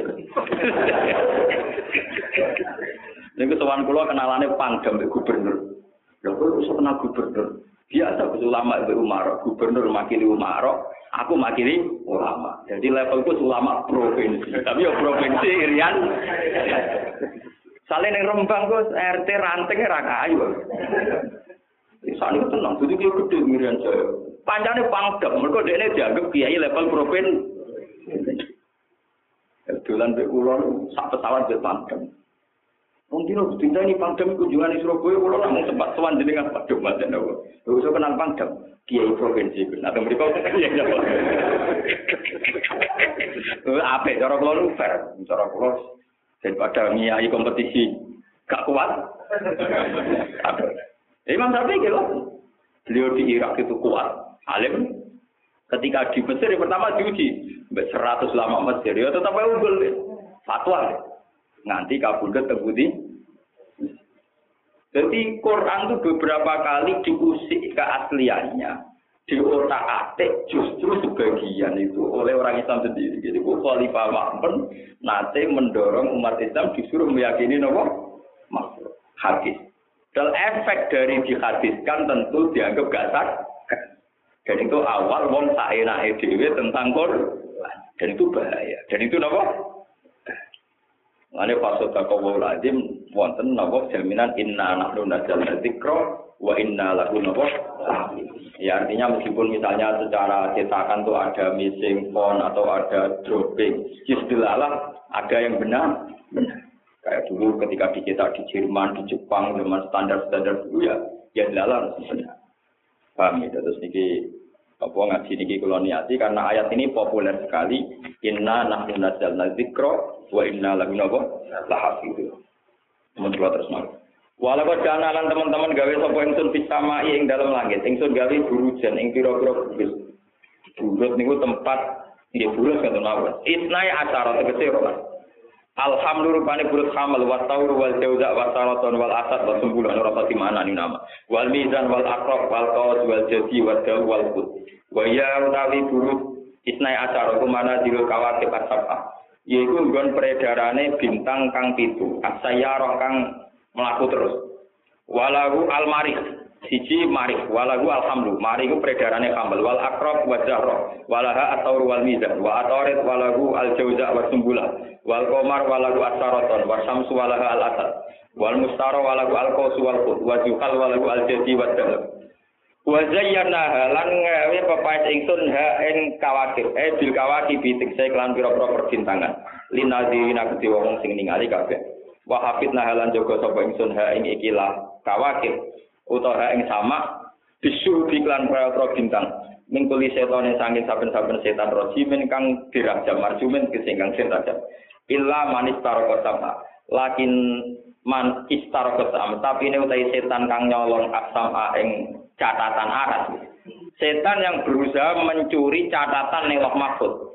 Niku sowan kula kenalane Pangdam mbek gubernur. Lha kok iso kenal gubernur? Biasa ulama mbek Umar, gubernur makili Umar, aku makili ulama. Jadi levelku ulama provinsi. Tapi ya provinsi Irian. Sale ning Rembang kok R T ranting ra kayu. Isane tenang, dadi ki gedhe Irian Jaya. Pancane Pangdam, mergo dekne dianggap kiai level provinsi. Dolan mbek kula sak pesawat mbek Pangdam. Mungkin aku tinta ini Pangdam kunjungan di Surabaya, kalau nak sempat sowan jenengan Pak Dom macam apa? Aku so kenal Pangdam, Kiai Provinsi. Nah, mereka ya apa? Apa? Cara kalau fair, cara kalau daripada ngiyai kompetisi gak kuat. Imam Syafi'i gitu, beliau di Irak itu kuat, alim. Ketika di Mesir yang pertama diuji, seratus lama Mesir, ya tetap unggul, fatwa. Nanti kabudut terbudi. Jadi Quran itu beberapa kali diusik keasliannya, diotak-atik justru sebagian itu oleh orang Islam sendiri. Jadi Khalifah Ma'mun nanti mendorong umat Islam disuruh meyakini apa? Makhluk hadis. Dan efek dari dihadiskan tentu dianggap gak sah. Dan itu awal wong saenake dhewe tentang Quran. Dan itu bahaya. Dan itu apa? Ngene fasota kawu lazim wonten napa jaminan inna nahnu nazzalna dzikra wa inna lahu napa. Ya artinya meskipun misalnya secara cetakan tuh ada missing font atau ada dropping, istilah ada yang benar. Benar. Kayak dulu ketika dicetak di Jerman, di Jepang dengan standar-standar dulu ya, ya dilalah benar. Paham ya, terus niki apa ngaji niki kula niati karena ayat ini populer sekali. Inna nahnu nazzalna dzikra wa inna lahu lahafidz. Menurut terus mau. Walau janalan teman-teman gawe sapa ingsun bisamai ing dalam langit, ingsun gawe burujan ing pira-pira burus. Burus niku tempat nggih burus kanthi mawon. Isnai acara tegese ora. Alhamdulillah rupane burus hamal wa taur wal jauza wa saraton wal asad wa sumbulan ora pati mana ni nama. Wal mizan wal aqrab wal qawas wal jadi wal daw wal qut. Wa ya utawi burus isnai acara kumana dirul kawatib asabah. Yaiku nggon peredarane bintang kang pitu, asayarah kang mlaku terus. Walahu al-marih, siji marih, walahu alhamdu. Marih ku peredarane kambal, wal aqrab wa zahra, walaha at-taur wal mizan, wa atarid walahu al-jauza wa sumbula, wal qamar walahu as-saraton, wa syamsu walaha al-asad, wal mustara walahu al-qaus wal qut, wa zuhal walahu al-jadi wa dalab. Wa zayyana lan gawe pepaes ingsun ha ing kawakib eh bil kawakib bitik saya kelan pira-pira perbintangan linadzirina kedhe wong sing ningali kabeh wa hafidna halan jaga sapa ingsun ha ing ikilah kawakib utawa ha ing sama bisu iklan pira-pira bintang mingkuli setane saking saben-saben setan rojimen kang dirajam marjumen kesingkang setan illa manis taroko sama lakin man istaroko sama tapi ini utai setan kang nyolong asama ing catatan aras. Setan yang berusaha mencuri catatan ning Lauh Mahfuz.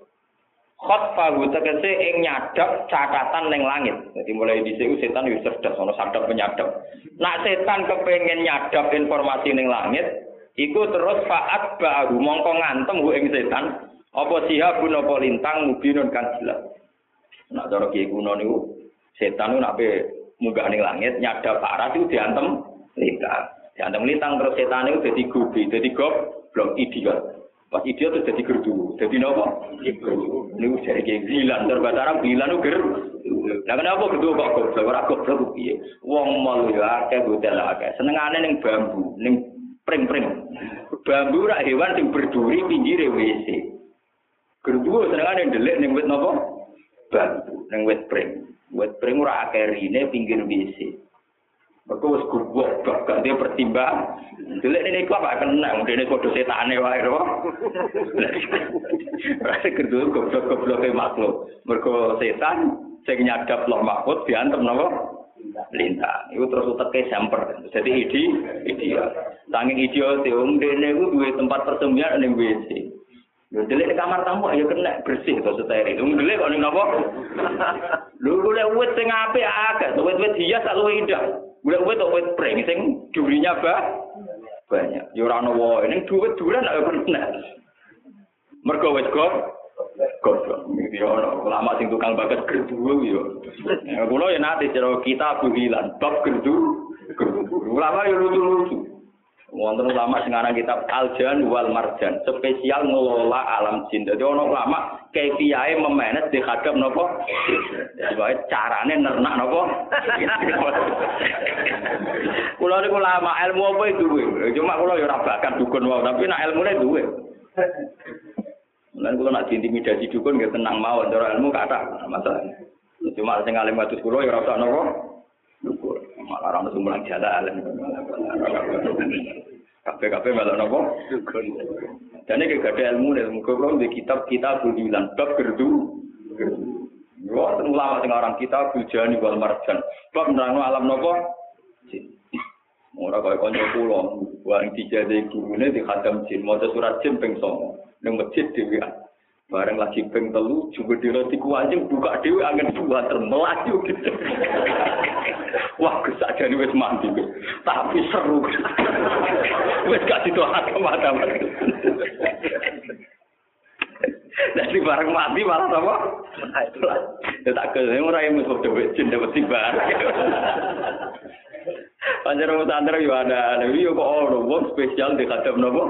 Khotfahu tegese ing nyadap catatan ning langit. Jadi mulai dhisik setan wis cerdas ana sadap penyadap. Nak setan kepengin nyadap informasi ning langit, iku terus faat baru mongko ngantem ku ing setan, apa sihabun apa lintang mubinun kan jelas. Nak cara kiye kuno niku setan niku nek munggah ning langit nyadap aras iku diantem lintang. Ya anteng lintang terus setan itu jadi gobi, jadi goblok idiot. Pas idiot itu jadi gerdu, jadi nopo? Ini jadi kayak gilan, terbatas orang gilan itu ger. Lah kenapa gedhe kok goblok ora goblok piye? Wong mall ya akeh hotel akeh. Senengane ning bambu, ning pring-pring. Bambu rak hewan sing berduri pinggire W C. Gerduwo senengane ndelik ning wit napa? Bambu, ning wit pring. Wit pring ora akeh rine pinggir W C. Mergo wis gubuk gak dia pertimbang. Ndelik ning iku apa kena dene padha setane wae lho. Rasa gerduwo goblok-gobloke makhluk. Mergo setan sing nyadap loh mahfud diantem napa? Lintang. Iku terus uteke semper. Jadi ide ideal. Saking ideal wong dene iku duwe tempat persembunyian ning W C. Lho delik di kamar tamu ayo kena bersih to steril. Wong delik kok ning napa? Lho golek wit sing apik akeh, wit-wit hias tak luwih indah. Golek wit tok wit pring sing durinya bah banyak. Ya ora ono wae ning duit duran ayo kena. Mergo wis kok goblok. Iki ono ulama sing tukang bakat gerduwo yo. Ya kula ya nate cara kita buhilan bab gerdu. Ulama yo lucu-lucu. Wonten ulama sing aran kitab Al-Jan wal Marjan, spesial ngelola alam jin. Dadi ono ulama kepiyae memanage dihadap napa? Dadi wae carane nernak napa? Kula niku ulama ilmu apa duwe. Cuma kula ya ora bakat dukun wae, tapi nek ilmune duwe. Lan kula nak diintimidasi dukun nggih tenang mawon, cara ilmu kathah masalah. Cuma sing alim kados kula ya ora usah napa? Dukun. Malah ora mulang jalan. Kabeh-kabeh malah napa? Dukun. Dene iki gak ada ilmu nek muga-muga di kitab-kitab bulan bab gerdu. Yo ulama sing aran kitab Bujani wal Marjan. Bab nerangno alam napa? Jin. Ora kaya kanca kula, wong dijade gurune di khatam jin, maca surat jin ping songo. Ning masjid dhewe. Bareng lagi ping telu juga diroti kuanjing buka dhewe angin buat melaju gitu. Wah, kesajane wis mandi. Tapi seru. Wis gak ditohake mata-mata. Dari bareng mati malah apa? Ya tak kene ora yang mesti dhewe jin dapat tibar. Panjenengan santri yo ada, yo kok ono wong spesial di kadang napa?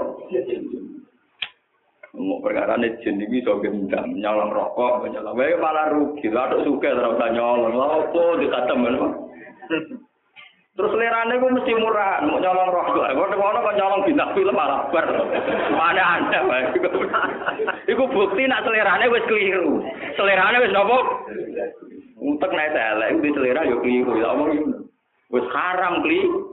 Mau perkara ini jenis bisa gendam, nyolong rokok, nyolong. Wah malah rugi, lalu suka terus nyolong. Lalu dikatem, terus lerane gue mesti murah, mau nyolong rokok. Kalau ngono kok nyolong bintang film malah ber, mana anda? Iku bukti nak selerane wes keliru, selerane wes nopo. Untuk naik telek, itu selera yo keliru, ya omong wes haram keliru.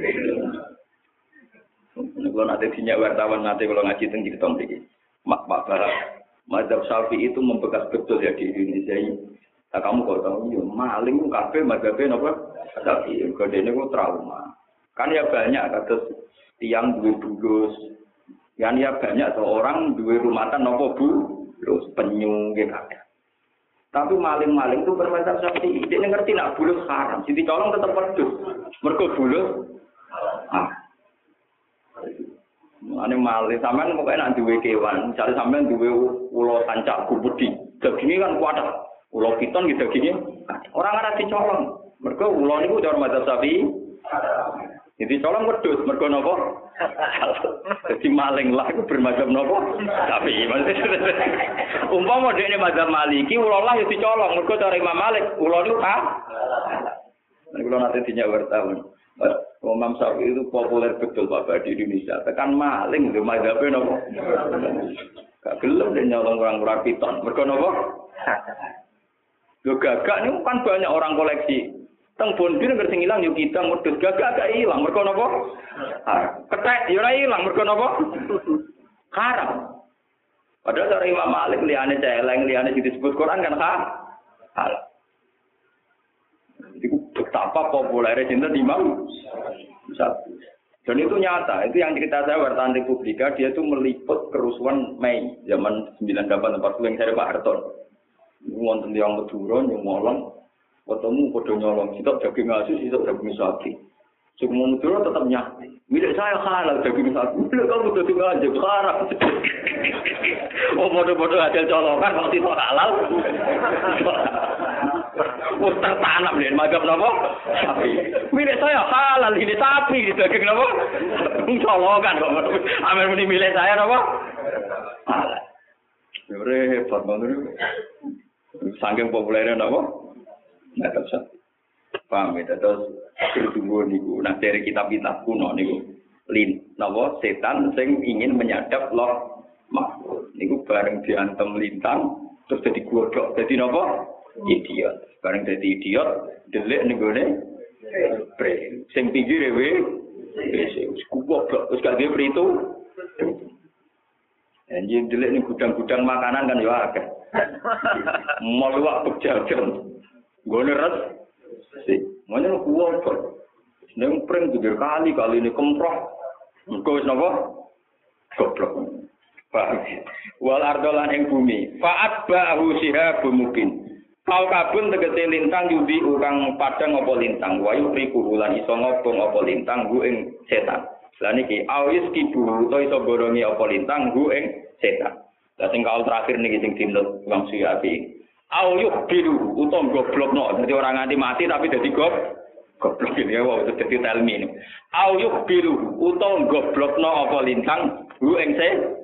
Kalau nanti dinyak wartawan nanti kalau ngaji tentang kita begini. Mak Pak Barat, mazhab Syafi'i itu membekas betul ya di Indonesia ini. Nah, kamu kok tahu, ya, maling kafe mazhabnya apa? Syafi'i, kodenya itu trauma. Kan ya banyak kata tiang dua bulus, kan ya banyak seorang dua rumatan nopo bu, terus penyu gitu. Tapi maling-maling itu bermazhab Syafi'i, dia ngerti nak bulus haram, jadi colong tetap pedus, mergo bulus. Ah. Ane malih sampean pokoke nek duwe kewan, misale sampean duwe ula kancak gubudi. Daginge kan kuat. Ula piton gitu daginge. Ora ngarep dicolong. Mergo ula niku cara mazhab Syafi'i. Jadi colong wedhus mergo napa? Dadi maling lah iku bermazhab napa? Syafi'i. Umpama dekne mazhab Maliki ula lah ya dicolong mergo cara Imam Malik ula niku ha. Nek kula nate dinyak wartawan. Imam Syafi'i itu populer betul Bapak di Indonesia. Tekan maling lho mazhabe napa? Gak gelem nek nyolong orang-orang piton. Mergo napa? Lho gagak niku kan banyak orang koleksi. Teng Bondi nek sing ilang yo kidang wedhus gagak gak ilang. Mergo napa? Kethek yo ora ilang mergo napa? Haram. Padahal cara Imam Malik liyane celeng, liyane disebut Quran kan halal. Itu betapa populernya cinta Imam Syafi'i. Dan itu nyata, itu yang cerita saya wartawan Republika, dia itu meliput kerusuhan Mei zaman sembilan delapan empat puluh yang saya Pak Harton. Wonten yang Madura nyolong, ketemu podo nyolong, sitok daging asus, sitok daging sapi. Semua Madura tetap nyati. Milik saya halal daging sapi. Milik kamu daging aja haram. Oh podo-podo hasil colongan kalau sitok halal. Oh tertanam nih, mazhab napa? Sapi. Milik saya halal ini sapi gitu, daging napa? Colongan kok. Amer muni milik saya napa? Halal. Repot banget. Saking populernya napa? Nah, terus paham ya, terus berdua niku. Nah, dari kitab-kitab kuno niku, lin, napa setan sing ingin menyadap loh makhluk. Niku bareng diantem lintang, terus jadi godok, jadi napa? Idiot. Bareng jadi idiot, delik nenggone bre. Sing pinggire we, wis goblok, wis gak duwe pritu. Anjing delik ning gudang-gudang makanan kan yo akeh. Moluwak bejajan. Gone res. Sik, ngono kuwi kok. Nang pring juga kali kali ini kemproh. Engko wis napa? Goblok. Paham. Wal ardolan ing bumi. Fa'at ba'hu sihabun mubin. Kau kabun tegese lintang yubi urang padang apa lintang. Wa yuriku bulan iso ngobong apa lintang gu ing setan. Lah niki awis kibu to iso borongi apa lintang gu ing setan. Lah sing kaul terakhir niki sing dinut Imam Suyati. Au yuk biru utawa goblokno. Dadi ora nganti mati tapi dadi gob goblok iki ya wae dadi telmi ini. Au yuk biru utawa goblokno apa lintang gu ing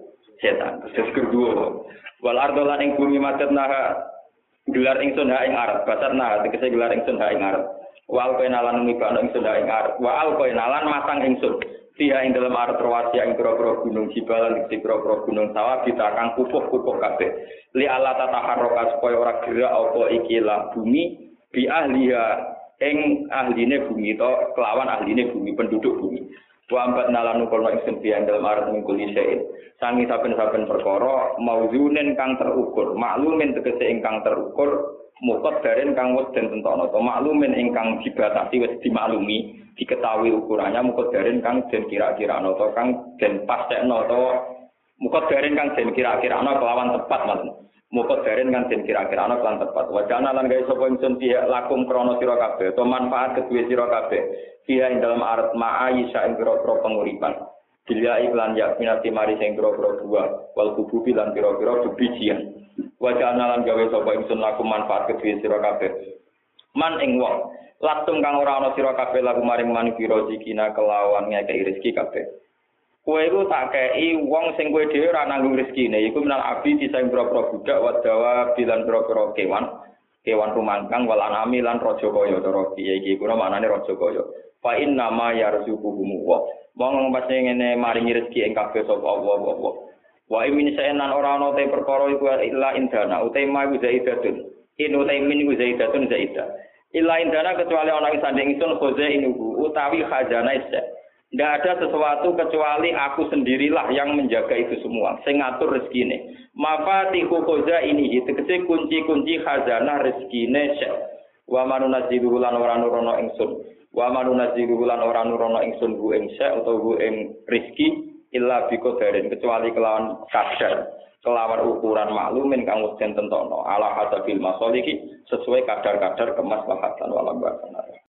setan. Terus kedua wal ardolan ing bumi madatna gelar ingsun ha ing arep basarna tegese gelar ingsun ha ing arep wal kenalan mibana ingsun ha ing arep wa al kenalan masang ingsun dia ing dalam arep terwasi ing pro-pro gunung Jibalan ing pro-pro gunung sawah ditakang pupuh-pupuh kabeh li ala tataharroka supaya ora gerak apa iki la bumi bi ahliya ing ahline bumi to kelawan ahline bumi penduduk bumi wa ambat nalan nukono ingsun dia ing dalam arep mingkuli sein sangi saben-saben perkara mauzunen kang terukur maklumin tegese ingkang terukur mukot daren kang wis den tentono to maklumin ingkang dibatasi wis dimaklumi diketahui ukurannya mukot daren kang den kira-kirano to kang den pastekno to mukot daren kang den kira-kirano kelawan tepat maksud mukot daren kang den kira-kirano kelawan tepat wajana lan gawe sapa ingsun piye lakum krana sira kabeh to manfaat kedue sira kabeh piye ing dalem arat ma'aisha ing pira-pira penguripan Bila iklan yakminati mari sing pira-pira buah wal kububi lan pira-pira bebijian. Wajah analan gawe sapa ingsun laku manfaat kedue sira kabeh. Man ing wong latung kang ora ana sira kabeh laku maring man pira zikina kelawan ngekeki rezeki kabeh. Kowe iku tak kei wong sing kowe dhewe ora nanggung rezekine iku menal abi disang pira-pira budak wadawa bilan pira-pira kewan. Kewan rumangkang wal anami lan raja kaya cara piye iki kuna maknane raja kaya. Fa inna ma yarzuquhum wa mong pasti ngene maringi rezeki ing kabeh sapa Allah Allah. Wa min saenan ora ana te perkara iku illa indana utai ma iku zaidatun. In utai min iku zaidatun zaidah. Illa indana kecuali ana ing sanding ingsun khoza inuku utawi khazanah isa. Ndak ada sesuatu kecuali aku sendirilah yang menjaga itu semua, sing ngatur rezekine. Mafatihu khoza ini tegese kunci-kunci khazanah rezekine isa. Wa manunazilu lan ora nurono ingsun. Wa manunazilu lan ora nurono ingsun bu ing isa utawa bu ing rezeki illa biqadarin kecuali kelawan kadar kelawan ukuran maklumin kang wis tentono ala hasabil masoliki sesuai kadar-kadar kemaslahatan wala bahana.